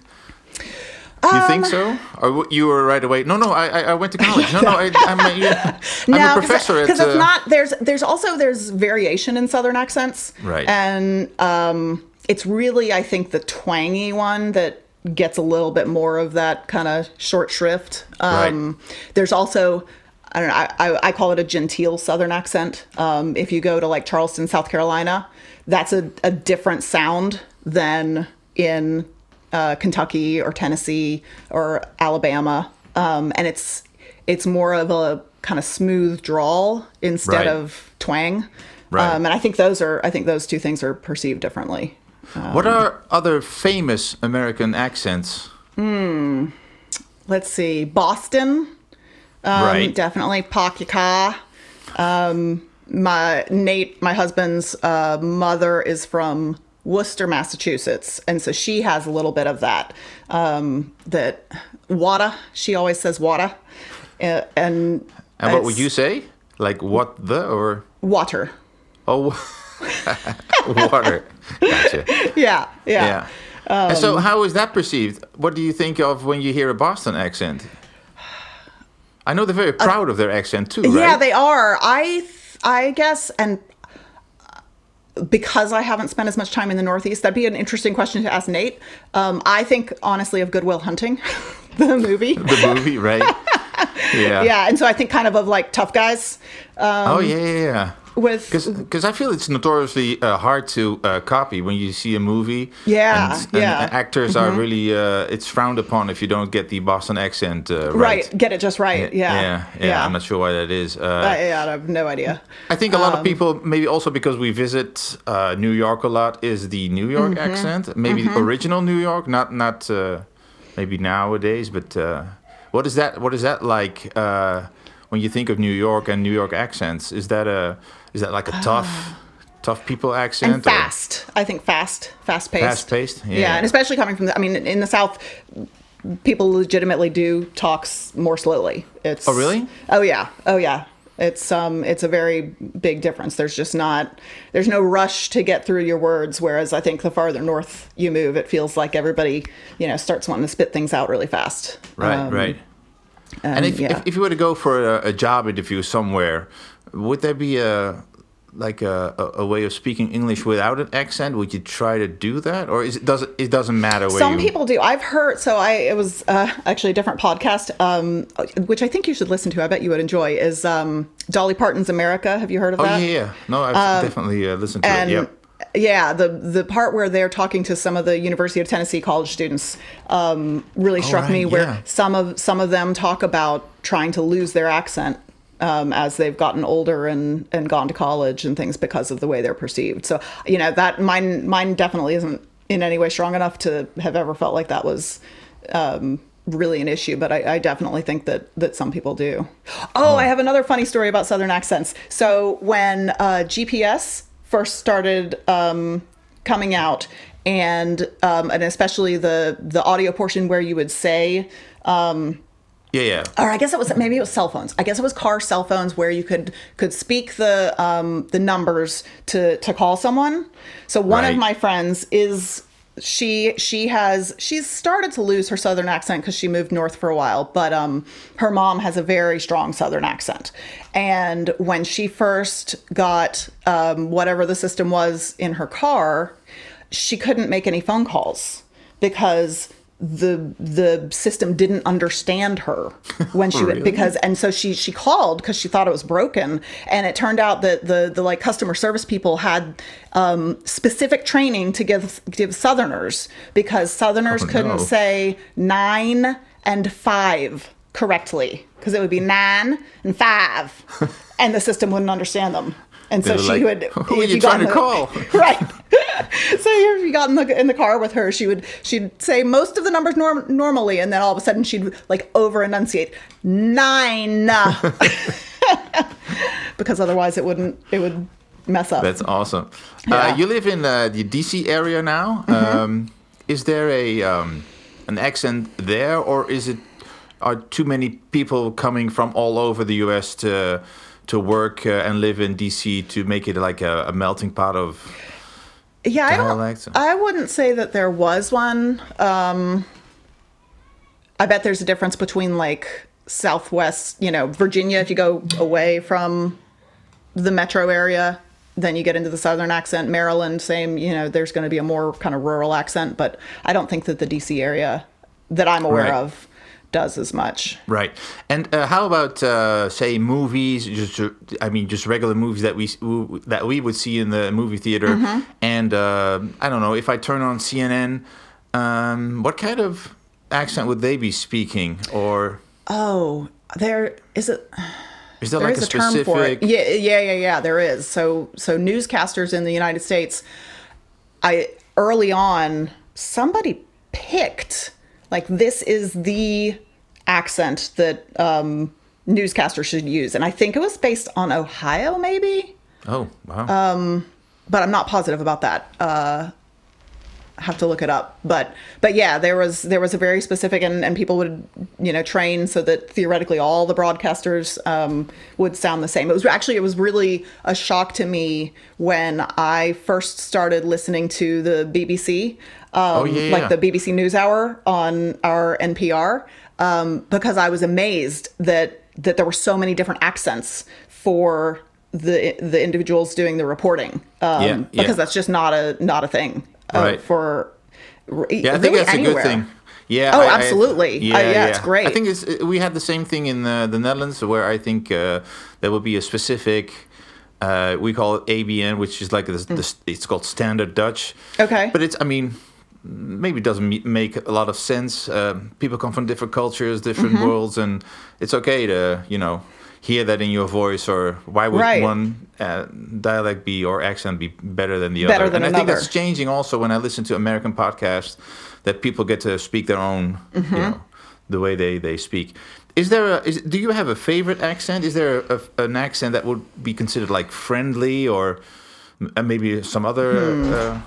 You think Um, so? Or w- you were right away? No, no, I, I- I went to college. No, no, I, I'm, a, yeah, I'm No, a professor because at... it's uh, not. There's there's also there's variation in Southern accents, Right. And um, it's really, I think, the twangy one that gets a little bit more of that kind of short shrift. Um, Right. There's also, I don't know, I, I, I call it a genteel Southern accent. Um, if you go to like Charleston, South Carolina, that's a, a different sound than in uh, Kentucky or Tennessee or Alabama. Um, and it's it's more of a kind of smooth drawl instead Right. of twang. Right. Um, and I think those are I think those two things are perceived differently. What are other famous American accents? Let's see, Boston, um, Right. definitely Pakika. Um, my Nate, my husband's uh, mother is from Worcester, Massachusetts, and so she has a little bit of that. Um, that water, she always says water, uh, and And what would it's you say? Like what the or... water? Oh, water. Gotcha. Yeah, yeah. Yeah. and so how is that perceived? What do you think of when you hear a Boston accent? I know they're very proud of their accent too, right? Yeah, they are. I th- I guess, and because I haven't spent as much time in the Northeast, that'd be an interesting question to ask Nate. Um, I think, honestly, of Good Will Hunting, the movie. The movie, right? Yeah. Yeah, and so I think kind of of like Tough Guys. Um, Oh, yeah, yeah, yeah. with Because I feel it's notoriously uh, hard to uh, copy when you see a movie. Yeah, and, and yeah. actors are really, uh, it's frowned upon if you don't get the Boston accent uh, right. right, get it just right. Yeah, yeah, yeah, I'm not sure why that is. Uh, I, yeah, I have no idea. I think a lot Um, of people, maybe also because we visit uh, New York a lot, is the New York Mm-hmm. accent. Maybe the original New York, not not uh, maybe nowadays, but uh, what is that? What is that like uh, when you think of New York and New York accents? Is that a is that like a tough, tough people accent. And fast. I think fast, fast paced. Fast paced. Yeah. yeah, and especially coming from the. I mean, in the South, people legitimately do talk s- more slowly. It's. Oh really? Oh yeah. Oh yeah. It's um it's a very big difference. There's just not there's no rush to get through your words. Whereas I think the farther north you move, it feels like everybody you know starts wanting to spit things out really fast. Right. Um, right. And, And if, yeah. if if you were to go for a, a job interview somewhere, would there be a like a, a, a way of speaking English without an accent? Would you try to do that, or is it does it doesn't matter where Some you? people do. I've heard. So I it was uh, actually a different podcast, um, which I think you should listen to. I bet you would enjoy. Is um, Dolly Parton's America? Have you heard of Oh that? yeah, yeah. No, I've definitely uh, listened to And it. Yep. yeah, the the part where they're talking to some of the University of Tennessee college students um, really struck right, me. Where yeah. some of some of them talk about trying to lose their accent um, as they've gotten older and and gone to college and things because of the way they're perceived. So you know that mine mine definitely isn't in any way strong enough to have ever felt like that was. Um, really an issue, but I, I definitely think that that some people do. Oh, I have another funny story about Southern accents. So when uh, G P S first started um, coming out, and um, and especially the the audio portion where you would say, um, Yeah, yeah. or I guess it was maybe it was cell phones. I guess it was car cell phones where you could could speak the um, the numbers to to call someone. So one Right. of my friends is. She she has she's started to lose her Southern accent because she moved north for a while, but um, her mom has a very strong Southern accent. And when she first got um, whatever the system was in her car, she couldn't make any phone calls because the the system didn't understand her when she Really? because and so she she called because she thought it was broken, and it turned out that the the like customer service people had um specific training to give give Southerners because Southerners Oh, couldn't no. say nine and five correctly because it would be nine and five and the system wouldn't understand them. And so They were she like, would. "Who are if you got trying in to the- call?" Right. So if you got in the in the car with her, she would she'd say most of the numbers norm, normally, and then all of a sudden she'd like over enunciate nine, because otherwise it wouldn't it would mess up. That's awesome. Yeah. Uh, you live in uh, the D C area now. Mm-hmm. Um, is there a um, an accent there, or is it are too many people coming from all over the U S to to work uh, and live in D C to make it like a, a melting pot of? Yeah, I don't. dialects? I wouldn't say that there was one. Um, I bet there's a difference between like Southwest, you know, Virginia. If you go away from the metro area, then you get into the Southern accent. Maryland, same. You know, there's going to be a more kind of rural accent, but I don't think that the D C area that I'm aware Right. of does as much. Right. And uh, how about uh, say movies? Just uh, I mean, just regular movies that we that we would see in the movie theater. Mm-hmm. And uh, I don't know if I turn on C N N, um, what kind of accent would they be speaking? Or Oh, there is it. is there, There like is a a term specific? for it. Yeah, yeah, yeah, yeah. There is. So, so newscasters in the United States, I early on somebody picked like this is the accent that um, newscasters should use, and I think it was based on Ohio, maybe, Oh wow. Um, but I'm not positive about that. Uh, I have to look it up, but but yeah, there was there was a very specific, and, and people would you know train so that theoretically all the broadcasters um, would sound the same. It was actually it was really a shock to me when I first started listening to the B B C, um, Oh, yeah, like yeah. the B B C NewsHour on our N P R, um, because I was amazed that that there were so many different accents for the the individuals doing the reporting, um, Yeah, yeah. because that's just not a not a thing. Uh, Right. For Yeah, I think that's a good thing. Yeah. Oh, I- I- absolutely. Uh, yeah, it's great. I think it's, we had the same thing in the, the Netherlands, where I think uh, there will be a specific. Uh, we call it A B N, which is like this, this, it's called Standard Dutch. Okay. But it's, I mean, maybe it doesn't me- make a lot of sense. Um, people come from different cultures, different Mm-hmm. worlds, and it's okay to, you know, hear that in your voice. Or why would Right. one uh, dialect be or accent be better than the Better other? than and I think another. that's changing also when I listen to American podcasts, that people get to speak their own, Mm-hmm. you know, the way they, they speak. Is there a, is, do you have a favorite accent? Is there a, a, an accent that would be considered like friendly, or And maybe some other... Hmm. Uh...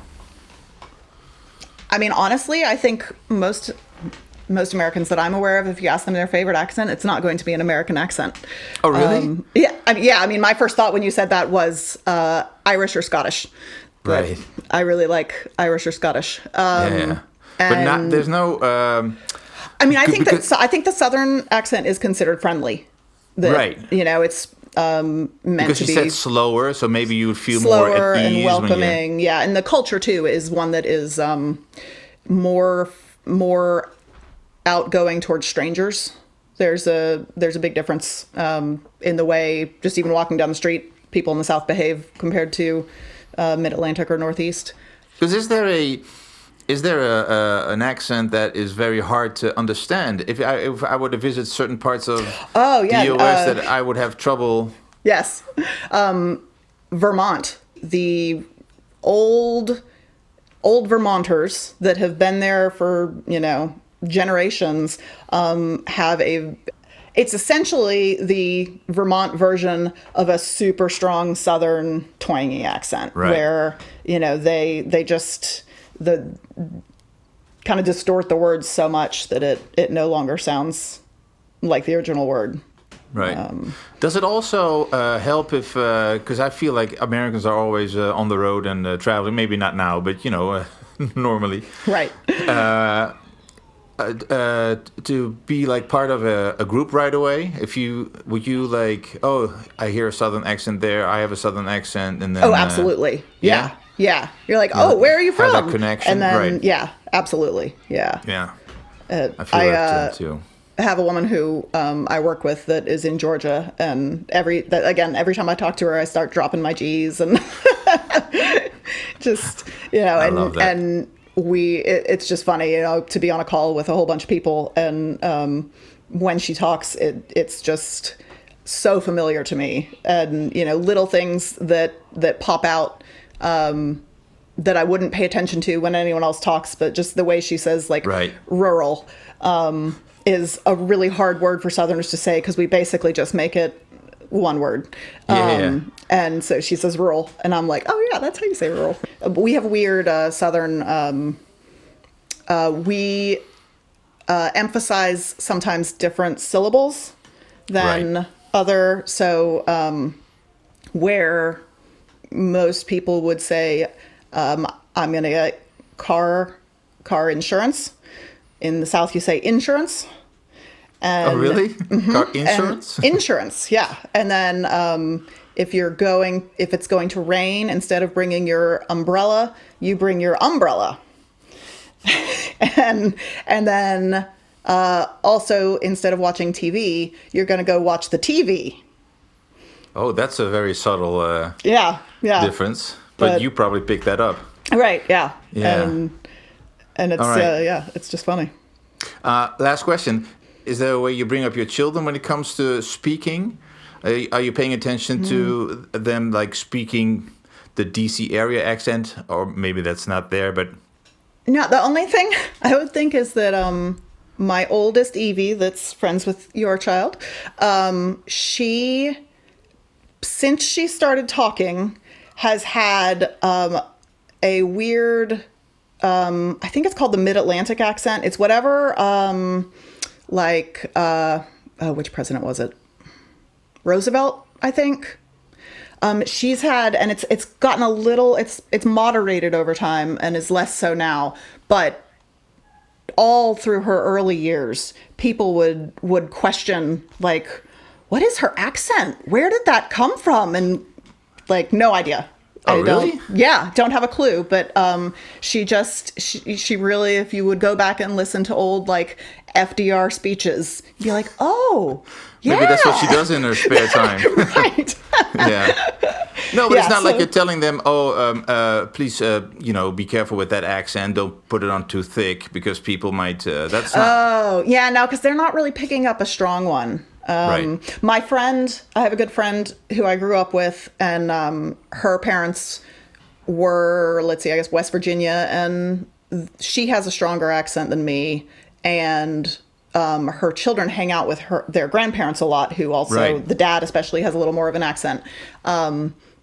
I mean, honestly, I think most most Americans that I'm aware of, if you ask them their favorite accent, it's not going to be an American accent. Oh, really? Um, yeah, I mean, yeah. I mean, my first thought when you said that was uh, Irish or Scottish. But Right. I really like Irish or Scottish. Um, yeah. But not, and- there's no... Um, I mean, I think that because- so I think the Southern accent is considered friendly. That, Right. You know, it's um, meant because to you be said slower, so maybe you would feel slower more at ease and when you... welcoming. Yeah, and the culture too is one that is um, more more outgoing towards strangers. There's a there's a big difference um, in the way just even walking down the street, people in the South behave compared to uh, Mid Atlantic or Northeast. Because is there a is there a, a an accent that is very hard to understand? If I if I were to visit certain parts of Oh, yeah, the U S, uh, that I would have trouble. Yes. Um, Vermont, the old old Vermonters that have been there for, you know, generations um, have a it's essentially the Vermont version of a super strong Southern twangy accent, Right. where, you know, they they just the kind of distort the words so much that it it no longer sounds like the original word. Right. Um, Does it also uh, help if, because I feel like Americans are always uh, on the road and uh, traveling, maybe not now, but, you know, uh, normally. Right. Uh, uh, to be like part of a, a group right away? If you, would you like, oh, I hear a Southern accent there, I have a Southern accent, and then... Oh, uh, absolutely. Yeah. yeah? Yeah. You're like, Yeah, oh, where are you have from? that connection, And then, right. yeah, absolutely. Yeah. Yeah, Uh, I feel I, that uh, too. have a woman who um, I work with that is in Georgia, and every that, again, every time I talk to her, I start dropping my G's and just you know, I and love that. and we it, it's just funny, you know, to be on a call with a whole bunch of people, and um, when she talks, it it's just so familiar to me, and you know, little things that that pop out. Um, that I wouldn't pay attention to when anyone else talks, but just the way she says, like, Right. rural um, is a really hard word for Southerners to say because we basically just make it one word. Yeah. Um, and so she says rural, and I'm like, oh, yeah, that's how you say rural. Uh, We have weird uh, Southern, um, uh, we uh, emphasize sometimes different syllables than Right. other, so um, where most people would say, um, I'm going to get car car insurance. In the South, you say insurance. And, Oh, really? Car and insurance? insurance, yeah. And then um, if you're going, if it's going to rain, instead of bringing your umbrella, you bring your umbrella. and and then uh, also, instead of watching T V, you're going to go watch the T V. Oh, that's a very subtle uh, Yeah, yeah. difference. But, But- you probably picked that up. Right, yeah. Yeah. And, and it's, All right. uh, yeah, it's just funny. Uh, last question. Is there a way you bring up your children when it comes to speaking? Uh, are you paying attention to them like speaking the D C area accent? Or maybe that's not there, but... No, the only thing I would think is that um, my oldest Evie, that's friends with your child, um, she, since she started talking, has had um, a weird, um, I think it's called the Mid-Atlantic accent. It's whatever, um, like, uh, oh, which president was it? Roosevelt, I think. Um, she's had, and it's it's gotten a little, it's it's moderated over time and is less so now. But all through her early years, people would would question, like, what is her accent? Where did that come from? And like, no idea. Oh, I really? Don't, yeah, don't have a clue. But um, she just, she, she really, if you would go back and listen to old like F D R speeches, you'd be like, oh, yeah. Maybe that's what she does in her spare time. Right. Yeah. No, but Yeah, it's not like so- you're telling them, oh, um, uh, please, uh, you know, be careful with that accent. Don't put it on too thick because people might, uh, that's not... Oh, yeah, no, because they're not really picking up a strong one. Um, Right. My friend, I have a good friend who I grew up with, and um, her parents were, let's see, I guess West Virginia, and she has a stronger accent than me, and um, her children hang out with her their grandparents a lot, who also, Right. the dad especially, has a little more of an accent. Um,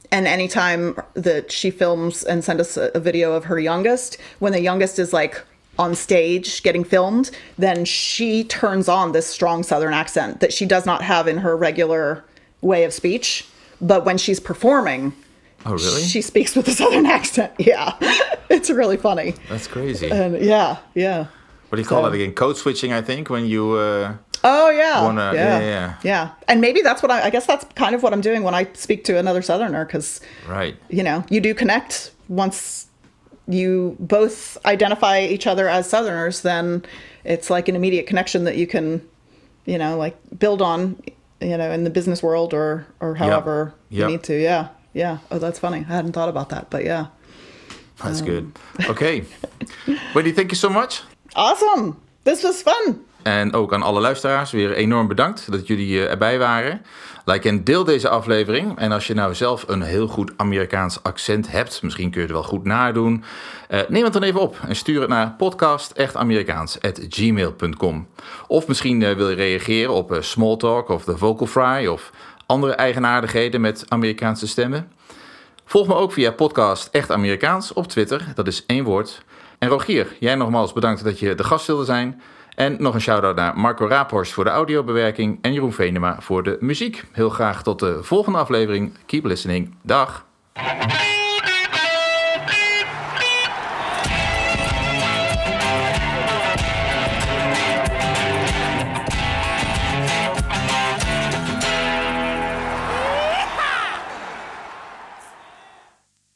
and anytime that she films and sends us a, a video of her youngest, when the youngest is like on stage getting filmed, then she turns on this strong Southern accent that she does not have in her regular way of speech. But when she's performing, oh really? She speaks with a Southern accent. Yeah, it's really funny. That's crazy. And yeah, yeah. What do you call So- that again? Code switching, I think, when you... Uh... Oh yeah. Wanna- yeah, yeah, yeah. yeah. And maybe that's what I, I guess that's kind of what I'm doing when I speak to another Southerner, because Right. you know, you do connect once you both identify each other as Southerners, then it's like an immediate connection that you can, you know, like build on, you know, in the business world or or however Yep. you need to. Yeah, yeah. Oh, that's funny. I hadn't thought about that, but yeah. That's good. Oké. Wendy, thank you so much. Awesome. This was fun. En ook aan alle luisteraars weer enorm bedankt dat jullie uh, erbij waren. Like en deel deze aflevering. En als je nou zelf een heel goed Amerikaans accent hebt, misschien kun je het wel goed nadoen, uh, neem het dan even op en stuur het naar podcast echt amerikaans at gmail dot com. Of misschien uh, wil je reageren op uh, Smalltalk of de Vocal Fry of andere eigenaardigheden met Amerikaanse stemmen. Volg me ook via podcast Echt Amerikaans op Twitter, dat is één woord. En Rogier, jij nogmaals bedankt dat je de gast wilde zijn. En nog een shout-out naar Marco Raaphorst voor de audiobewerking en Jeroen Venema voor de muziek. Heel graag tot de volgende aflevering. Keep listening. Dag!